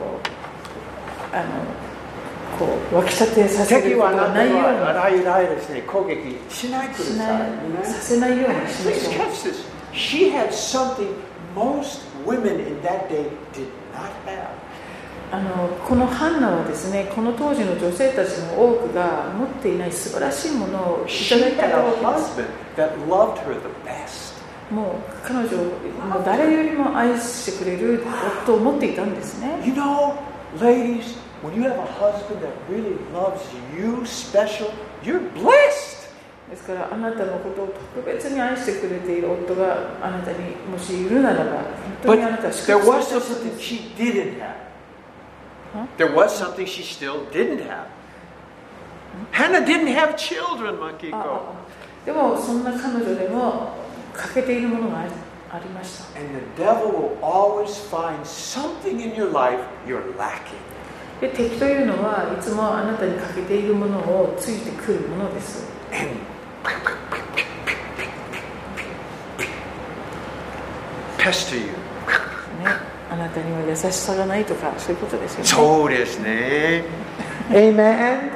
こう湧き立てさせることがないようにさせないようにしま Please しょう。 catch this. She had something most women in that day did not have. このハンナはですねこの当時の女性たちの多くが持っていない素晴らしいものをい She ただい had た a わけです。 husband that loved her the best. もう彼女も誰よりも愛してくれる夫を持っていたんですね。 You know, ladies, when you have a husband that really loves you special, you're blessed. ですからあなたのことを特別に愛してくれている夫があなたにもしいるならば本当 But にあなたは祝 there 福 was された人 something です。 she didn't have. Huh? There was something she still didn't have. Hannah didn't have children, あ Makiko. でもそんな彼女でも欠けているものがありました。 And the devil will always find something in your life you're lacking. で敵というのはいつもあなたに欠けているものをついてくるものです。 And pester you. ね、あなたには優しさがないとかそういうことですよね。 そうですね。Amen.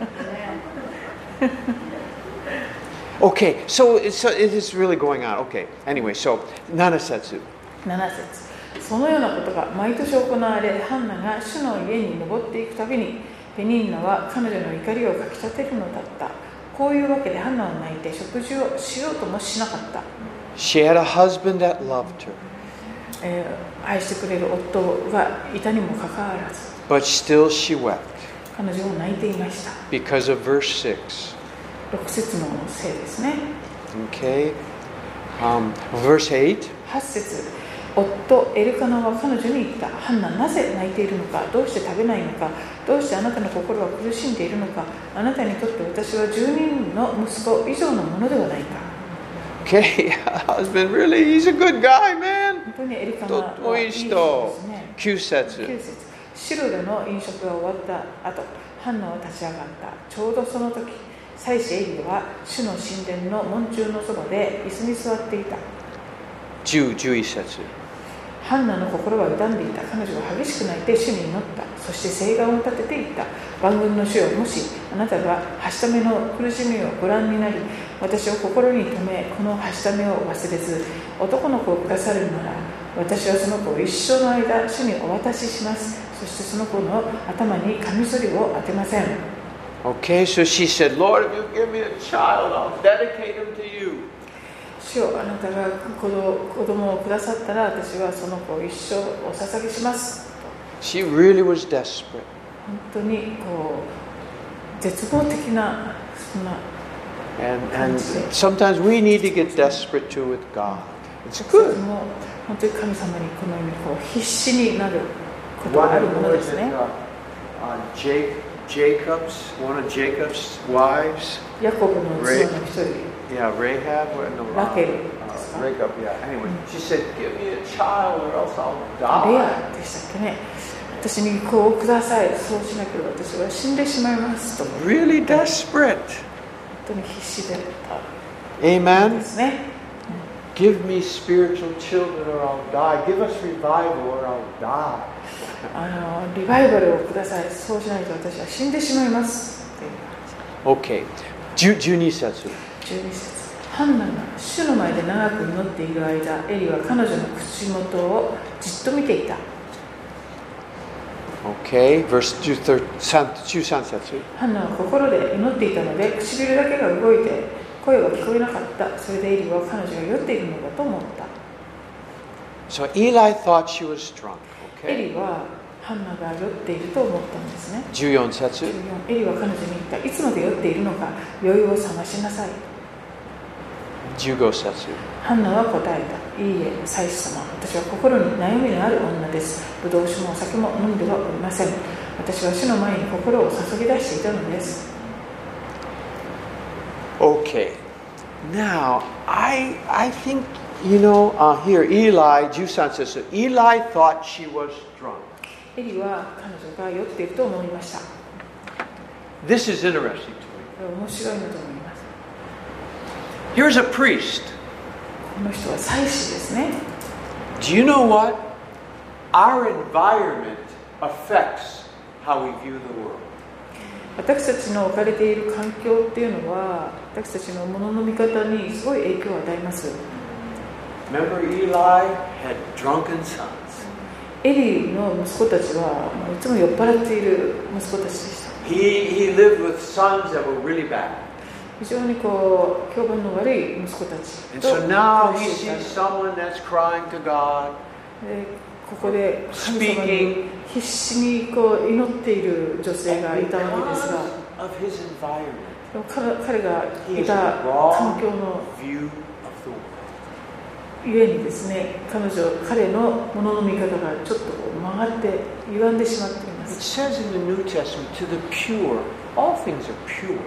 Okay, so it is really going on. Okay, anyway, so 7節。 7節そのようなことが毎年行われハンナが主の家に登っていくたびにペニンナは彼女の怒りをかき立てるのだった。こういうわけでハンナは泣いて食事をしようともしなかった。 She had a husband that loved her, 愛してくれる夫がいたにもかかわらず but still she wept 彼女は泣いていました。 because of verse 6. 6節のせいですね。 Okay, verse 8. 8節夫エルカナは彼女に言った。ハンナ、なぜ泣いているのか、どうして食べないのか、どうしてあなたの心は苦しんでいるのか、あなたにとって私は10人の息子以上のものではないか。 Okay, husband, really, he's a good guy, man. 本当にエルカナはいい人ですね。 9節。 9節シルでの飲食が終わった後、ハンナは立ち上がった。ちょうどその時、祭司エリは主の神殿の門柱のそばで椅子に座っていた。 11節。 ハンナの心は傷んでいた。彼女は激しく泣いて主に祈った。そして誓願を立てていった。万軍の主よ、もしあなたがはしための苦しみをご覧になり、私を心に留め、このはしためを忘れず、男の子をくださるなら、私はその子を一生の間、主にお渡しします。そしてその子の頭にカミソリを当てません。 Okay, so she said, Lord, if you give me a child, I'll dedicate him to you. 主よ、あなたが子供をくださったら、私はその子を一生お捧げします。 She really was desperate. 本当に絶望的なそんな And sometimes we need to get desperate too with God. It's good. 本当に神様にこのように必死になることがあるものですね。 One of Jacob's wives. ヤコブの妻の一人。 Yeah, Rahab. ラケル。 Rahab, yeah. Anyway, she said, "Give me a child, or else I'll die." レアでしたっけね。私に子をください。そうしなければ私は死んでしまいますと。 Really desperate. 本当に必死であった。 Amen. ですね。 Give me spiritual children, or I'll die. Give us revival, or I'll die. リバイバルをください。そうしないと私は死んでしまいます。 Okay. 12節。 12節。ハンナが主の前で長く祈っている間、エリは彼女の口元をじっと見ていた。 Okay, verse 13節。 ハンナは心で祈っていたので、唇だけが動いて声は聞こえなかった。それでエリは彼女が酔っているのだと思った。 So Eli thought she was drunk. エリはハンナが酔っていると思ったんですね。 14節。 エリは彼女に言った。いつまで酔っているのか、酔いを覚ましなさい。 15節。 ハンナは答えた。いいえ、祭司様。私は心に悩みのある女です。ぶどう酒もお酒も飲んではおりません。私は主の前に心を注ぎ出していたのです。 Okay. Now, I think, here Eli, 13節. Eli thought she was drunk. エリは彼女が酔っていると思いました。 This is interesting to me. 面白いなと思います。 Here's a priest. この人は祭司ですね。 Do you know what? Our environment affects how we view the world. 私たちの置かれている環境っていうのは、私たちのものの見方にすごい影響を与えます。 Remember, Eli had drunken sons. エリの息子たちはいつも酔っ払っている息子たちでした。 He lived with sons that were really bad. 非常に評判の悪い息子たちと And so now he sees someone that's crying to God. ここで神様に必死に祈っている女性がいたわけですが、彼がいた環境のゆえにですね、彼のものの見方がちょっと曲がって歪んでしまっています。 It says in the New Testament, to the pure, all things are pure.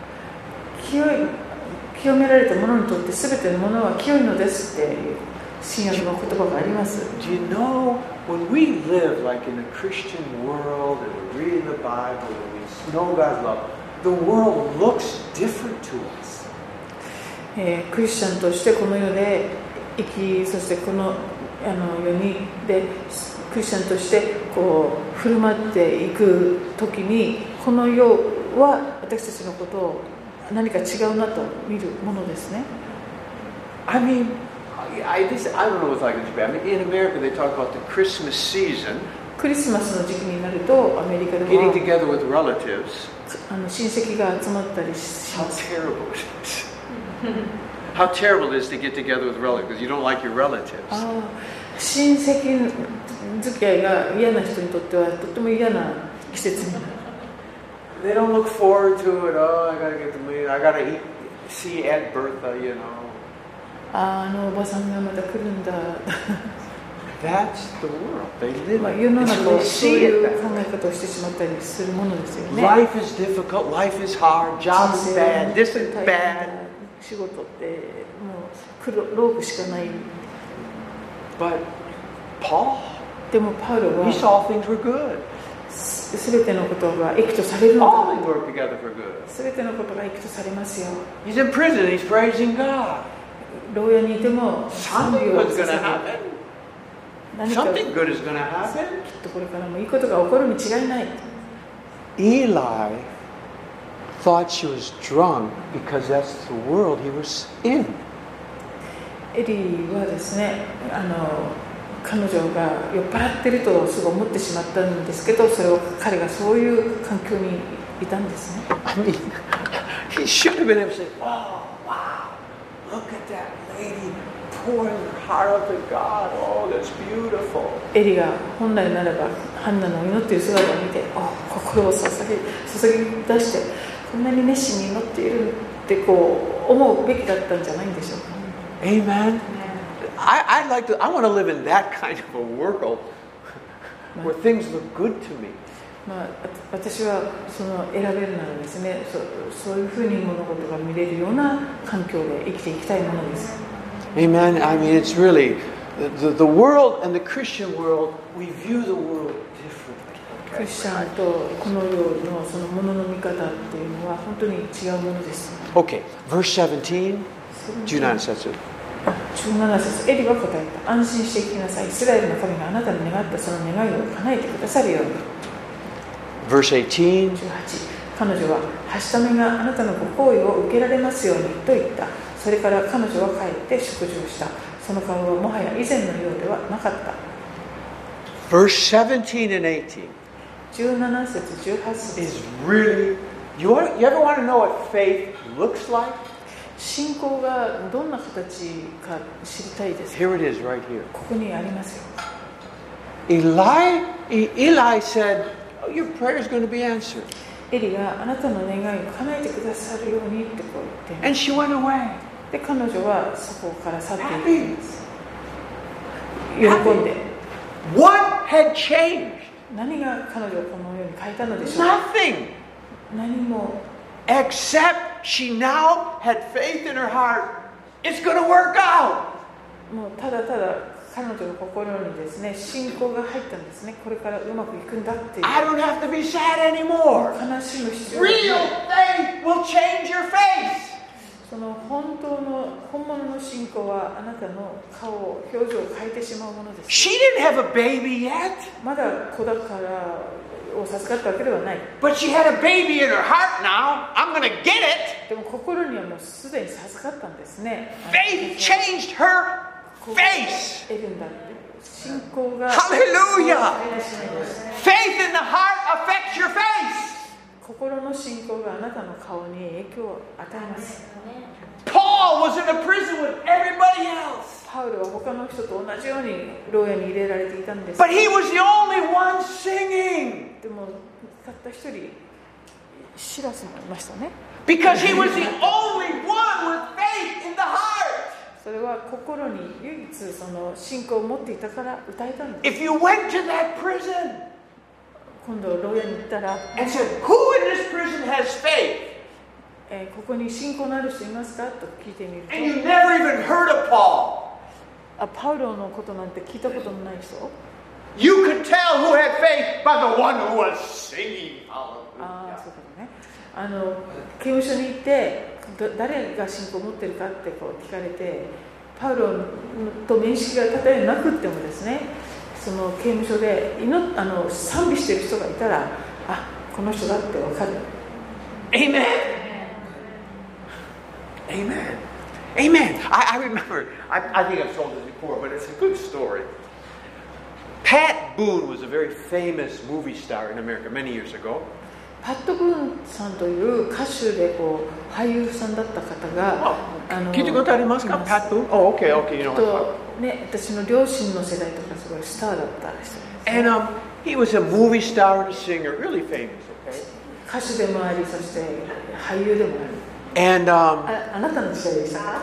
清められた者にとって全てのものは清いのですっていう新約の言葉があります。 Do you know, when we live like in a Christian world and we're reading the Bible and we know God's love, the world looks different to us. クリスチャンとしてこの世で生き、そしてこの世にでクリスチャンとして振る舞っていくときに、この世は私たちのことを何か違うなと見るものですね。 I mean, I don't know what's like in Japan. I mean, in America, they talk about the Christmas season. クリスマスの時期になると、アメリカでは getting together with relatives. 親戚が集まったりします。 How terrible it is. How terrible it is to get together with relatives because you don't like your relatives. 親戚付き合いが嫌な人にとってはとても嫌な季節になる。 They don't look forward to it. Oh, I gotta get to meet. I gotta see Aunt Bertha, you know. おばさんがまた来るんだ。 That's the world. They live. 世の中はそういう考え方をしてしまったりするものですよね。 Life is difficult. Life is hard. Job is bad. This is bad. 仕事ってもう労苦しかない。 But Paul, でもパウロは he saw things were good. すべてのことが益とされるのだ。 All things work together for good. すべてのことが益とされますよ。 He's in prison. He's praising God. 牢屋にいても Something was going to happen. 何か Something good is going to happen. きっとこれからもいいことが起こるに違いない。 Eli thought she was drunk because that's the world he was in. エリはですね、彼女が酔っ払ってるとすぐ思ってしまったんですけど、それを彼がそういう環境にいたんですね。 I mean, he should have been able to say, "Oh, wow, look at that lady pouring her heart out to God. Oh, that's beautiful." エリが本来ならばハンナの祈っている姿を見て、心を注ぎ出してこんなに熱心に祈っているってこう思うべきだったんじゃないんでしょうか。 Amen. I want to live in that kind of a world where things look good to me. 私はその選べるならですね、そういうふうに物事が見れるような環境で生きていきたいものです。 Amen. I mean, it's really the world and the Christian world. We view the world differently. クリスチャンとこの世のそのものの見方っていうのは本当に違うものです。 Okay, verse 17. 17節。 17節、エリは答えた。安心してきなさい。イスラエルの神があなたに願ったその願いを叶えてくださるように。 Verse 18. 18、彼女ははしためがあなたのご好意を受けられますようにと言った。それから彼女は帰って食事をした。その顔はもはや以前のようではなかった。 Verse 17 and 18. 17節、18節。 Is really, you ever want to know what faith looks like? 信仰がどんな形か知りたいですか？ Here it is right here. ここにありますよ。 Eli said, "Oh, your prayer is going to be answered." エリがあなたの願いを叶えてくださるようにってこう言って、 And she went away. で彼女はそこから去っていくんです。喜んで。 What had changed? 何が彼女をこのように変えたのでしょうか？ Nothing. 何も。 Except she now had faith in her heart. It's going to work out. もうただただ彼女の心にですね、信仰が入ったんですね。これからうまくいくんだっていう。 I don't have to be sad anymore. 悲しむ必要がない。 Real faith will change your face. その本物の信仰はあなたの顔、表情を変えてしまうものです。 She didn't have a baby yet. まだ子だからを授かったわけではない。 But she had a baby in her heart now. I'm going to get it. でも心にはもうすでに授かったんですね。 Faith changed her face. 得るんだって。信仰が Hallelujah. 変えてしまいます。 Faith in the heart affects your face. 心の信仰があなたの顔に影響を与えます。 Paul was in a prison with everybody else. パウロは他の人と同じように牢屋に入れられていたんです。 But he was the only one singing. でもたった一人シラスもいましたね。 Because he was the only one with faith in the heart. それは心に唯一その信仰を持っていたから歌えたんです。 If you went to that prison 今度牢屋に行ったら and said, "Who in this prison has faith?" ここに信仰のある人いますかと聞いてみると、 And you never even heard of Paul. パウロのことなんて聞いたことのない人、 You could tell who had faith by the one who was singing. そういうことね。刑務所に行って誰が信仰を持ってるかってこう聞かれて、パウロと面識がたとえなくってもですね、その刑務所で賛美している人がいたら、この人だってわかる。 Amen. Amen. Amen. I remember, I think I've told this before, but it's a good story. Pat Boone was a very famous movie star in America many years ago. パット・ブーンさんという歌手でこう俳優さんだった方が、 聞いたことありますか？ Pat Boone? Oh, okay, okay, you know. 私の両親の世代とかすごいスターだった人です、ね。 And he was a movie star and a singer, really famous. Okay. 歌手でもあり、そして俳優でもある。 And あなたの時代でしたか？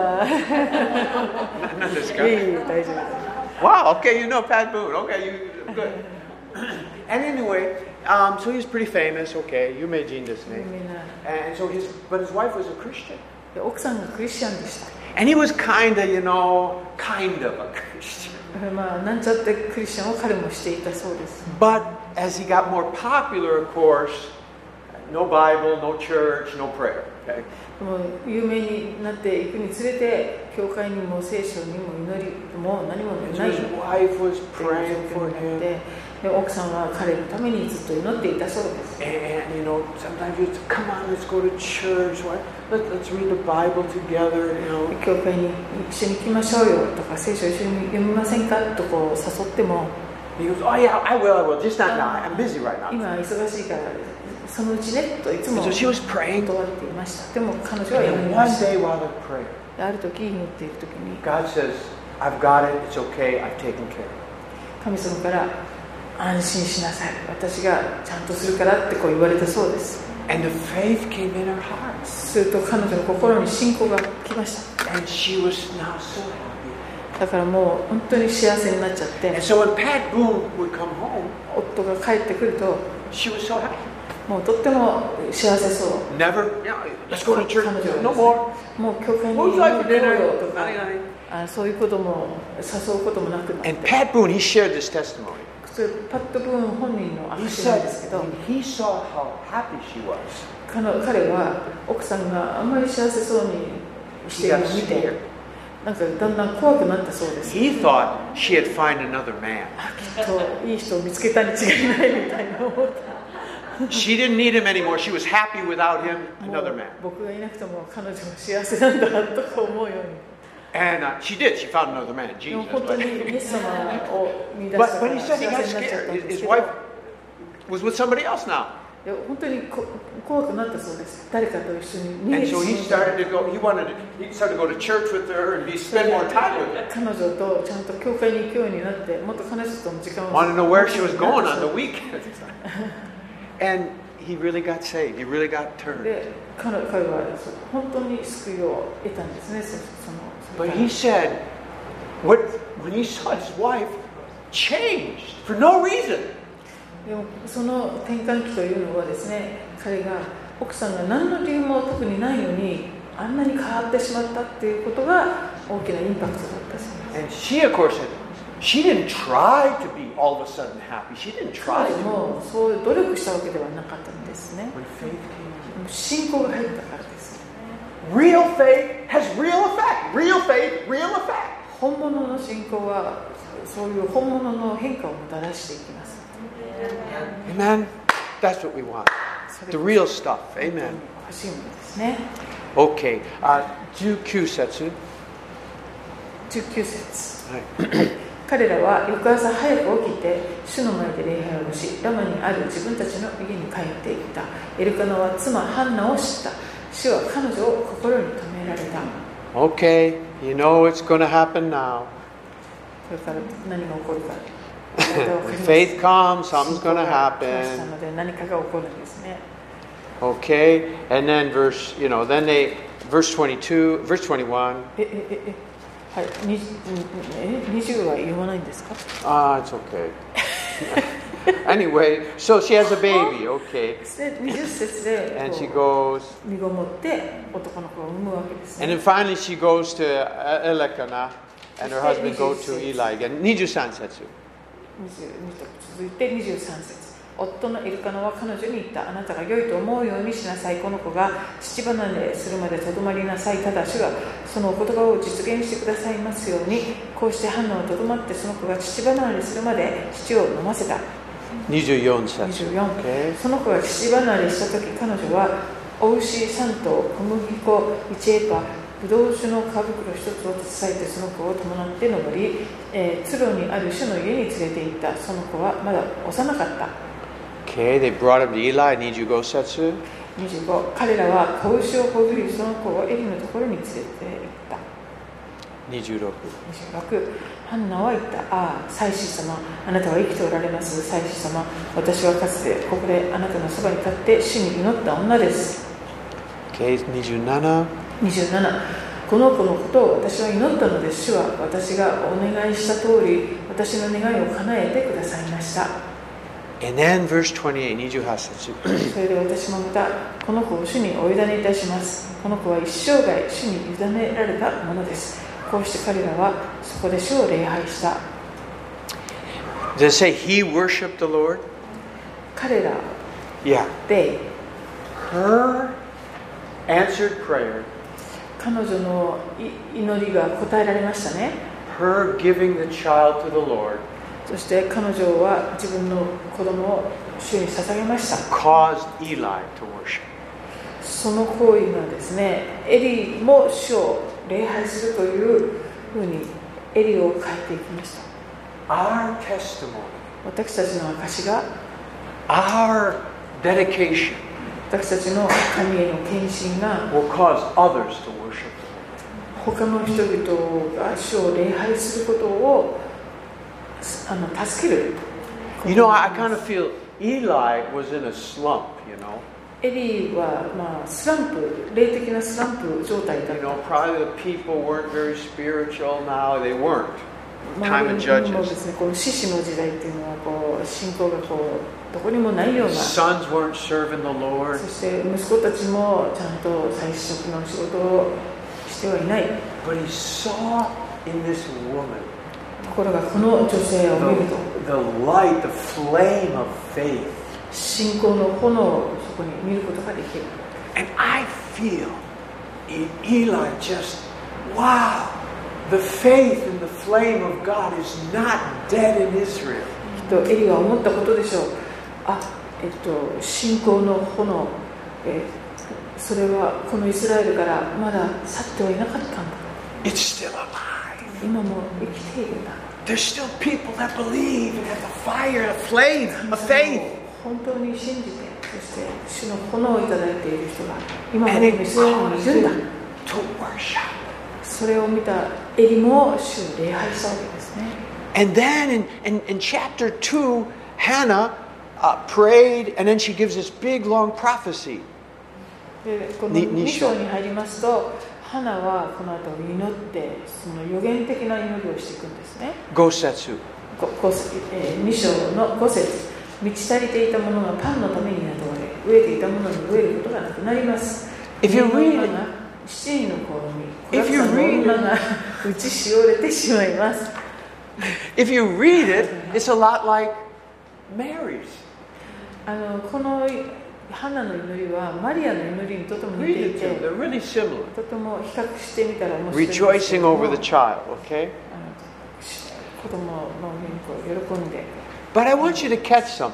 何ですか？ いい大丈夫。 Wow, okay, you know Pat Boone. Okay, you good. And anyway, so he's pretty famous. Okay, you may Jean this name. And so his wife was a Christian. 奥さんがクリスチャンでした。 And he was kind of a Christian. なんちゃってクリスチャンを彼もしていたそうです。 But as he got more popular, of course, no Bible, no church, no prayer. Okay. でも有名になっていくにつれて、 教会にも聖書にも祈りも何もない His wife was praying for him. で奥さんは彼のためにずっと祈っていたそうです。 And you know, sometimes you say, come on, let's go to church. Let's read the Bible together. You know. 教会に一緒に行きましょうよとか聖書一緒に読みませんかとこう誘っても He goes, oh yeah, I will, just not now. I'm busy right now. 今忙しいからそのうちねといつも So she was praying. 断っていました。でも彼女は祈り And ま one した。 day while they're praying, ある時祈っている時に God says, I've got it. It's okay. I've taken care. 神様から安心しなさい。私がちゃんとするからってこう言われたそうです。 And the faith came in her heart. すると彼女の心に信仰が来ました。 And she was now so happy. だからもう本当に幸せになっちゃって And so when Pat Boone would come home, 夫が帰ってくると she was so happy. もうとっても幸せそう。 Never, let's go to church. No more. もう教会に Who's 行 like こ for うよ dinner? とかそういうことも誘うこともなくなって And Pat Boone, he shared this testimony. それパット・ブーン本人の He 証なん said ですけど when he saw how happy she was, 彼は奥さんがあんまり幸せそうにして he いる got のを見て scared. なんかだんだん怖くなったそうです。 He thought she had found another man. きっといい人を見つけたに違いないみたいな思った。 She didn't need him anymore. She was happy without him, も another う man. 僕がいなくても彼女は幸せなんだとか思うように。 And she did. She found another man, でも Jesus. 本当に But, イエス様を見出したか but ら he 幸 said he せに got なっちゃった scared. んです His けど。 wife was with somebody else now. いや本当に怖くなったそうです。誰かと一緒に And so he started to go, he started to go to church with her and spend more time with her. 彼女とちゃんと教会に行くようになってもっと彼女との時間を Wanted to know where she was going on the weekend. And he really got saved. He really got turned. で彼は本当に救いを得たんですね。 But he said, when he saw his wife changed for no reason. でもその転換期というのはですね、彼が奥さんが何の理由も特にないのにあんなに変わってしまったっていうことが大きなインパクトだったそうです。 And she, of course, she didn't try to be all of a sudden happy. She didn't try 彼 to. もそう努力したわけではなかったんですね。 When faith came 信仰が入ったからです。 in. Real faith has real effect. Real faith, real effect. 本物の信仰はそういう本物の変化をもたらしていきます。 Amen. That's what we want. The real stuff. Amen. 欲しいものですね。 Okay. 19節。 19節。 はい。 彼らは翌朝早く起きて主の前で礼拝をし、ラマにある自分たちの家に帰っていった。エルカナは妻ハンナを知った。主は彼女を心に留められた。 Okay. You know what's going to happen now. これから何が起こるか。 When faith comes, something's going to 信仰が来ました happen. ので何かが起こるんですね。 Okay. And then verse 22, verse 21. はい、20は言わないんですか？ It's okay. Anyway, so she has a baby, okay. で20節で And she こ goes, う身ごもって男の子を産むわけです and then ね。 finally she goes to Elkanah, and her husband go to Eli again. 23節。 22と続いて23節。夫のエルカナは彼女に言った。あなたが良いと思うようにしなさい。この子が父離れするまでとどまりなさい。ただ主がそのお言葉を実現してくださいますように。こうしてハンナはとどまってその子が父離れするまで父を飲ませた。 24節。 24、その子が父離れした時、彼女はお牛3頭、小麦粉1エパ、ブドウ酒の皮袋1つを携えてその子を伴って登り、ツロにある主の家に連れて行った。その子はまだ幼かった。 Okay, they brought him to Eli. 25節。 25、彼らは子牛をほぐり、その子をエリのところに連れて行った。 26。 26、ハンナは言った。ああ、祭司様、あなたは生きておられます。祭司様、私はかつてここであなたのそばに立って主に祈った女です。 Okay, 27。 27、この子のことを私は祈ったのです。主は私がお願いした通り、私の願いを叶えてくださいました。 And then verse 28, 28節。 それで私もまた、この子を主にお委ねいたします。この子は一生涯主に委ねられたものです。こうして彼らはそこで主を礼拝した。 Does it say he worshiped the Lord? 彼ら Yeah. で Her answered prayer 彼女の祈りが答えられましたね。 Her giving the child to the Lord そして彼女は自分の子供を主に捧げました。 caused Eli to worship. その行為がですね、エリも主を礼拝するというふうにエリを変えていきました。 Our testimony, 私たちの証が、 our dedication 私たちの神への献身が will cause others to worship. 他の人々が主を礼拝することを助ける。 You know, I kind of feel Eli was in a slump, you know. エリーは、スランプ、霊的なスランプ状態だっ You た。 know, probably the people weren't very spiritual now. They weren't. Time of 周りにもで Judges. すね、この獅子の時代っていうのは信仰がどこにもないような。 Sons weren't serving the Lord. そして息子たちもちゃんと祭司職の仕事をしてはいない。 But he saw in this woman ところがこの女性を見ると、 the light, the flame of faith. 信仰の炎をそこに見ることができる。 And I feel Eli just, wow, the faith and the flame of God is not dead in Israel. きっとエリは思ったことでしょう。信仰の炎、それはこのイスラエルからまだ去ってはいなかったんだ。 It's still alive. 今も生きているんだ。 There's still people that believe and have the fire, the flame of faith. 本当に信じて、そして主の炎をいただいている人が今も And イ it スラエルにい caused るんだ。 him to worship. それを見たエリも主を礼拝したわけですね。 And then in chapter 2, Hannah prayed, and then she gives this big long prophecy. でこの2章に入りますと、ハナはこの後祈ってその予言的な祈りをしていくんですね。 Gosetsu. 2章の5節、満ち足りていたものがパンのために雇われ、飢えていたものに飢えることがなくなります。 If you read it, 7人の子を見、子らの女が打ちしおれてしまいます。 if you read it, it's a lot like Mary's. このハナの祈りはマリアの祈りにとても似 Read てい it て、 too. They're really similar. とても比較してみたら面白いんですけ Rejoicing ども、 over the child, okay? 子供の元気を喜んで。 But I want you to catch something.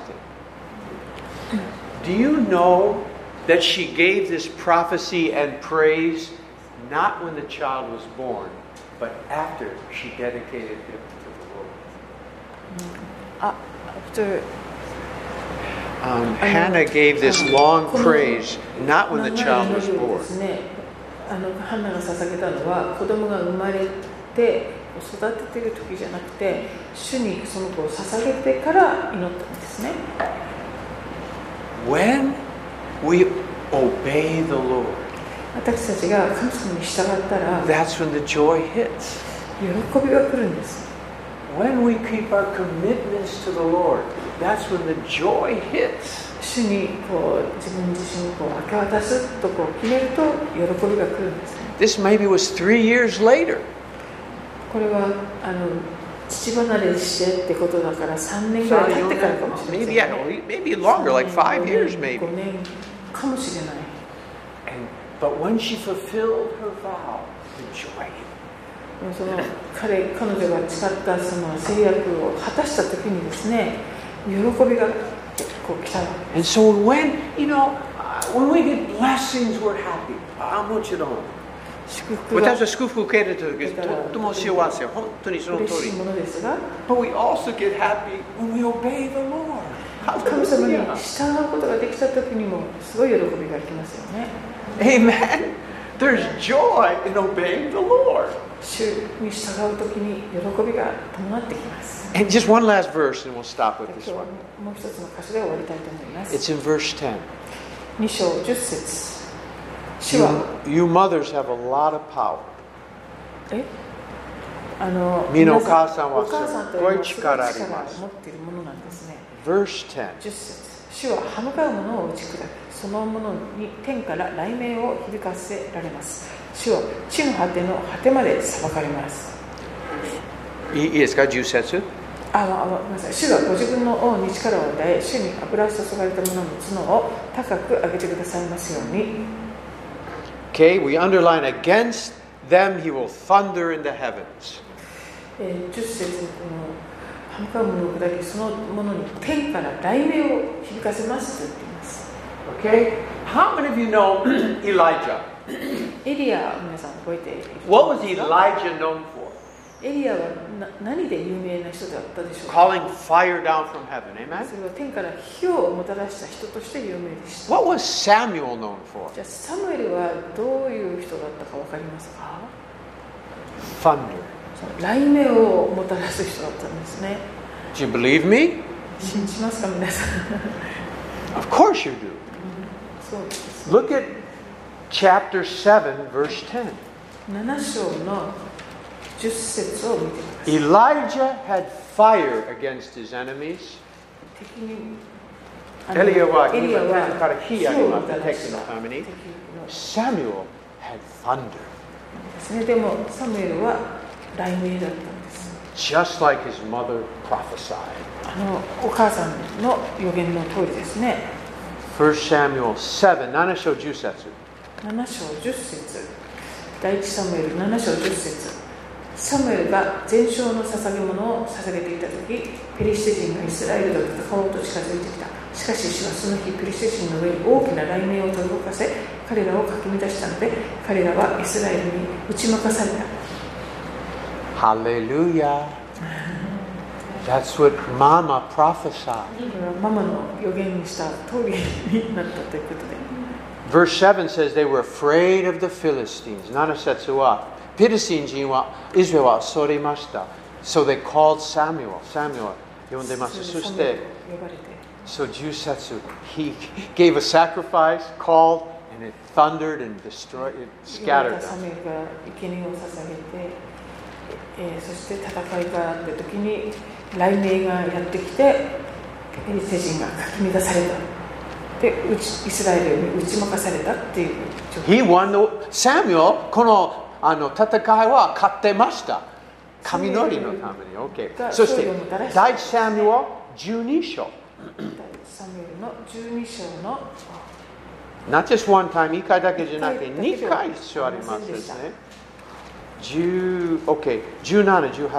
Do you know that she gave this prophecy and praise not when the child was born, but after she dedicated him to the Lord? After Hannah gave this long praise not when the child was 長い祈りを born. ですね、ハンナが捧げたのは子供が生まれて育てている時じゃなくて、主にその子を捧げてから祈ったんですね。 When we obey the Lord, 私たちが神様に従ったら that's when the joy hits. 喜びが来るんです。 When we keep our commitments to the Lord, that's when the joy hits. 主に自分自身を明け渡すと決めると喜びが来るんですね。 This maybe was 3 years later. これは父離れしてってことだから3年ぐらい経ってからかもしれない、ね。 Maybe longer, like 5 years maybe. 5年かもしれない。 But when she fulfilled her vow, the joy. その彼女が誓ったその制約を果たした時にですね、喜びが来たわけです。 And so when we get blessings, we're happy. もちろん。 祝福が私は祝福を受けるときとっても幸せ。本当にその通り。 嬉しいものですが、 But we also get happy when we obey the Lord. 神様に従うことができた時にもすごい喜びが来ますよね。 Amen. There's joy in obeying the Lord. 主に従う時に喜びが伴ってきます。 And just one last verse, and we'll stop with 今 this 日は one. もう一つの箇所で終わりたいと思います。 It's in verse 10. 2章10節。主は You mothers have a lot of power. 身のお母さんはお母さんというのはすごい力を持っているものなんですね。 Verse 10. 10節。主は歯向かう者を打ち砕き、その者に天から雷鳴を響かせられます。主は地の果ての果てまで裁かれます。 いいですか、10節。 ごめんなさい。主がご自分の王に力を与え、主に油注がれた者の角を高く上げてくださいますように。 Okay, we underline against them he will thunder in the heavens. 10節この歯向かう者を砕きその者に天から雷鳴を響かせますと言っています。 Okay, how many of you know Elijah? エリア皆さん覚えている。 What was Elijah known for? エリアは何で有名な人だったでしょうか。 Calling fire down from heaven, amen? それは天から火をもたらした人として有名でした。 What was Samuel known for? じゃあサムエルはどういう人だったか分かりますか。 Thunder. 雷鳴をもたらす人だったんですね。 Do you believe me? 信じますか皆さん。 Of course you do. そうです。 Look at chapter 7, verse 10. 7章の10節を見てください。 Elijah had fire against his enemies. 敵にエリアはエリアは自ら火あります火をもたらした敵のために。 敵の Samuel had thunder, ですね。でもサムエルは雷鳴だったんです。 just like his mother prophesied. お母さんの予言の通りですね。 1 Samuel 7, 7章10節。 7章10節第一サムエル7章10節サムエルが全焼の捧げ物を捧げていた時ペリシテ人がイスラエルと戦おうと近づいてきた。しかし主はその日ペリシテ人の上に大きな雷鳴を飛び動かせ彼らをかき乱したので彼らはイスラエルに打ち負かされた。 Hallelujah. That's what Mama prophesied. これはママの予言にした通りになったということで Verse 7 says they were afraid of the Philistines. 7節はペリシテ人はイスラエルは恐れました。So they called Samuel. Samuel 呼んでます。そしてSo 10節 He gave a sacrifice, called, and it thundered and destroyed, it scattered サ them. ムエルが生贄を捧げて、そして戦いがあった時に雷鳴がやってきてペリシテ人がかき乱された。でイスラエルに打ち負かされたっていう状況。 He won the Samuel この戦いは勝ってました。神のりのために。Okay. そして第一サムエル12章。 サムエルの12章の Not just one time, 1回だけじゃなくて2回一緒ありますですね。Okay. 17、18節。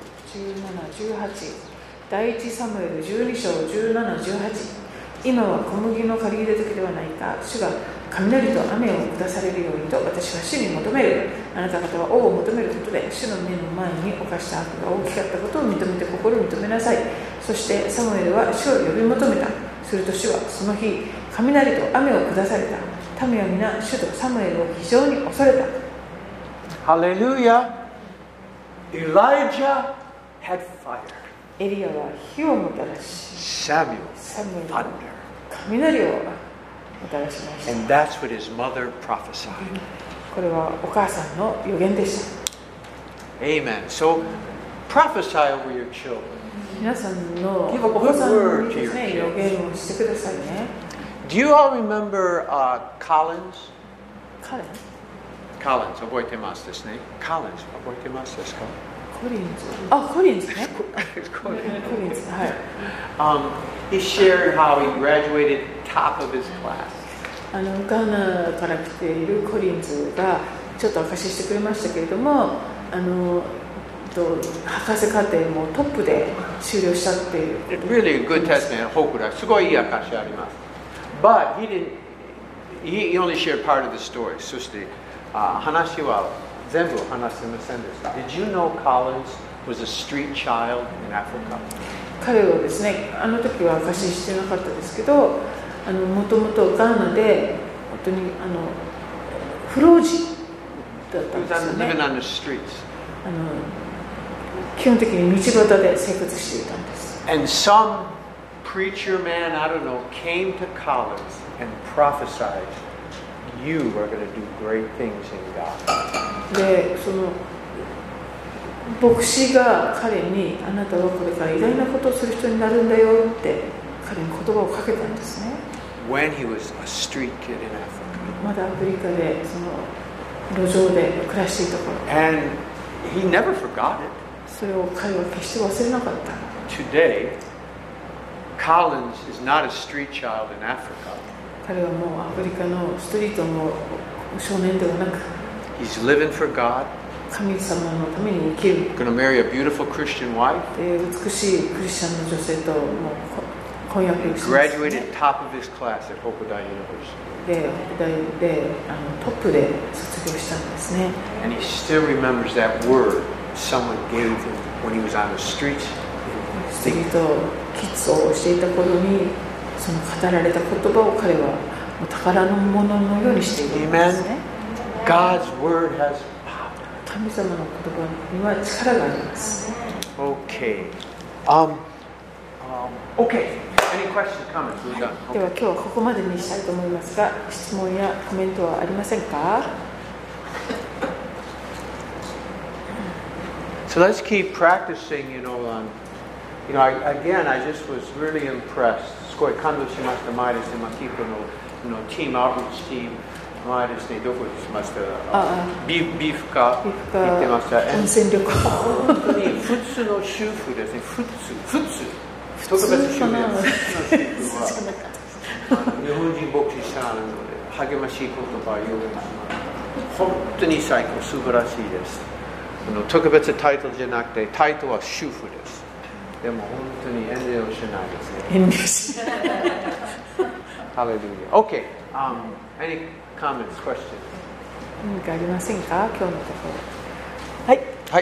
17、18第一サムエル12章17、18今は小麦の借り入れ時ではないか主が雷と雨を下されるようにと私は主に求める。あなた方は王を求めることで主の目の前に犯した悪が大きかったことを認めて心を認めなさい。そしてサムエルは主を呼び求めた。すると主はその日雷と雨を下された。民は皆主とサムエルを非常に恐れた。 Hallelujah. Elijah had fire. エリアは火をもたらし Samuel サムエル thunder. は雷をもたらしました。 And that's what his mother prophesied. これはお母さんの予言でした。 Amen. So prophesy over your children. 皆さんの Give a お子さん good にですね word to your 予言をしてくださいね。 Do you all remember Collins? 彼 Collins 覚えてますですね。Collins 覚えてますですか？ コリンズコリンズね。 Collins. コリンズはい。 He shared how he graduated top of his class. ガーナから来ているコリンズがちょっと証ししてくれましたけれども、博士課程もトップで修了したっていう。 Really a good testimony. ホークラすごいいい証あります。But he only shared part of the story. そして話は全部話せませんでした。Did you know Collins was a street child in Africa? 彼はですね、あの時は証ししてなかったですけど、もともとガーナで本当に不老児だったんですよね。 Living on the streets. 基本的に道端で生活していたんです。 And some preacher man, I don't know, came to Collins and prophesied, you are going to do great things in God. で、その牧師が彼にあなたはこれから偉大なことをする人になるんだよって彼に言葉をかけたんですね。 When he was a street kid in Africa. まだアフリカでその路上で暮らしていた頃。 And he never forgot it. それを彼は決して忘れなかった。 Today, Collins is not a street child in Africa. 彼はもうアフリカのストリートの少年ではなく、 He's living for God, 神様のために生きる。 going to marry a beautiful Christian wife, で美しいクリスチャンの女性ともう婚約します、ね。 graduated top of his class at Hokuda University. で、北大でトップで卒業したんですね。 And he still remembers that word someone gave him when he was on the streets. ストリートキッズをしていた頃に、その語られた言葉を彼は宝のもののようにしているんですね。 God's word has power. 神様の言葉には力があります。 Okay. Okay. Any questions, comments? We're done. では今日はここまでにしたいと思いますが、質問やコメントはありませんか？ So let's keep practicing, again, I just was really impressed. すごい感動しました前ですね。マキープのチーム、アウトリーチチーム前ですね。どこにしました？ビーフカ行ってました。 温泉旅行。 本当に普通の主婦ですね。普通。特別主婦は日本人牧師さんなので励ましい言葉を言う本当に最高素晴らしいです。特別タイトルじゃなくてタイトルは主婦です。でも本当に遠慮しないですね。遠慮しない。Hallelujah. Okay. Any comments, questions? 何かありませんか？今日のところ。はい。 はい。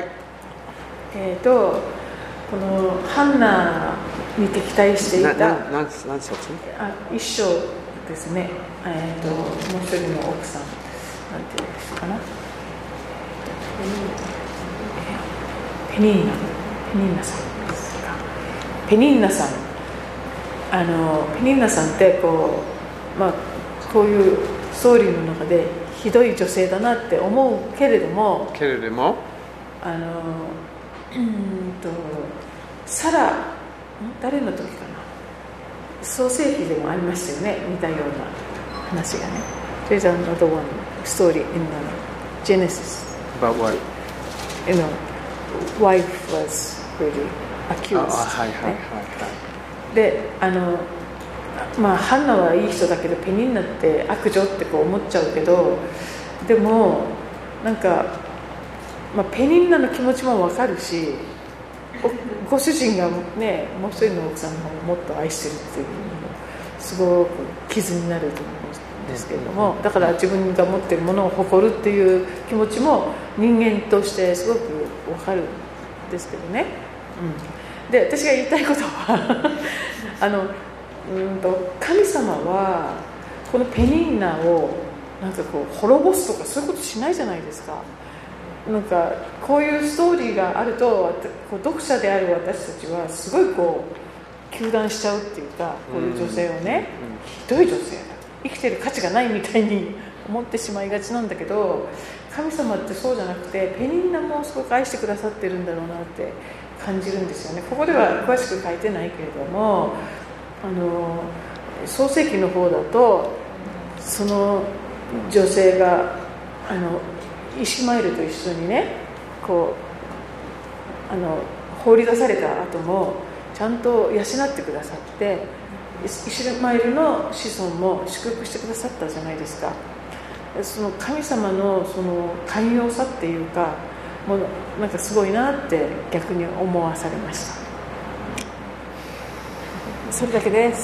このハンナに敵対していた何冊？ 一章ですね。もう一人の奥さんなんていうんですかな。ペニンナさんですか。ペニンナさんってこういうストーリーの中でひどい女性だなって思うけれども、サラ誰の時かな、創世記でもありましたよね、似たような話がね。There's another one story in Genesis about what? Wife was really accused、でハンナはいい人だけどペニンナって悪女ってこう思っちゃうけど、でもなんか、ペニンナの気持ちも分かるし、ご主人がね、もう一人の奥さんの方をもっと愛してるっていうのもすごく傷になると思うんですけれども、だから自分が持っているものを誇るっていう気持ちも人間としてすごく分かるんですけどね、で私が言いたいことは神様はこのペニンナをなんかこう滅ぼすとかそういうことしないじゃないですか。なんかこういうストーリーがあると読者である私たちはすごいこう糾弾しちゃうっていうか、こういう女性をね、ひどい女性だ、生きてる価値がないみたいに思ってしまいがちなんだけど、神様ってそうじゃなくてペニンナもすごく愛してくださってるんだろうなって感じるんですよね。ここでは詳しく書いてないけれども、創世記の方だとその女性がイシュマエルと一緒にね、こう放り出された後もちゃんと養ってくださって、イシュマエルの子孫も祝福してくださったじゃないですか。その神様のその寛容さっていうか、もうなんかすごいなって逆に思わされました。それだけです。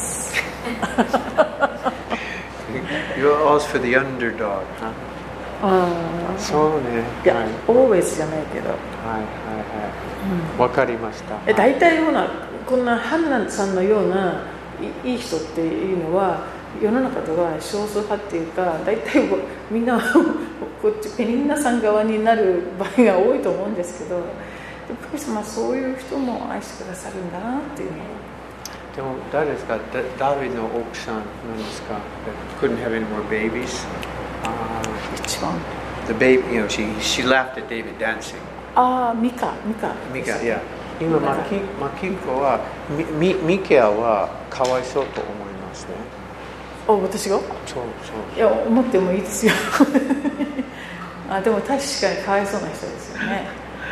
You're always for the underdog, huh? そうね。 いや、always じゃないけど。 わかりました。 大体こんなハンナさんのようないい人っていうのは世の中では少数派っていうか、大体みんなこっちペニンナさん側になる場合が多いと思うんですけど、神様はそういう人も愛してくださるんだなっていうのを。 でも誰ですか？ダビデの奥さんなんですか？ Couldn't have any more babies. 一番。 The baby, she laughed at David dancing. ミカ、 いや、今マキコはミケアはかわいそうと思いますね。 私が？ そう。 いや、思ってもいいですよ。でも確かにかわいそうな人ですよね。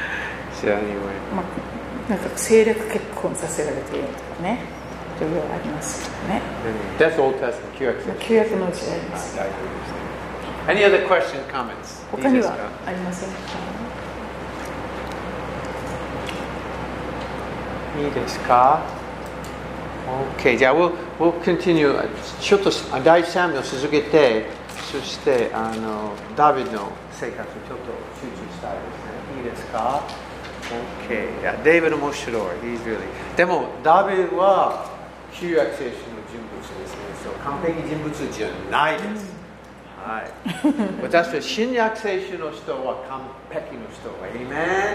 なんか政略結婚させられているとかね、いろいろありますよね。 That's Old Testament. 旧約の時代です。 Any other question, comments? 他にはありませんか？ いいですか？ OK、じゃあ we'll continue。 ちょっと第3を続けて、そしてダビデの生活をちょっと集中したいですね。いいですか？ OK。いや、デイビッド面白い。でも、ダビデは旧約聖書の人物ですね。そう完璧人物じゃないです。はい。私は新約聖書の人は完璧の人。Amen。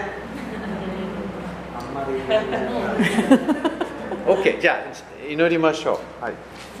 あんまり。OK、じゃあ祈りましょう。はい。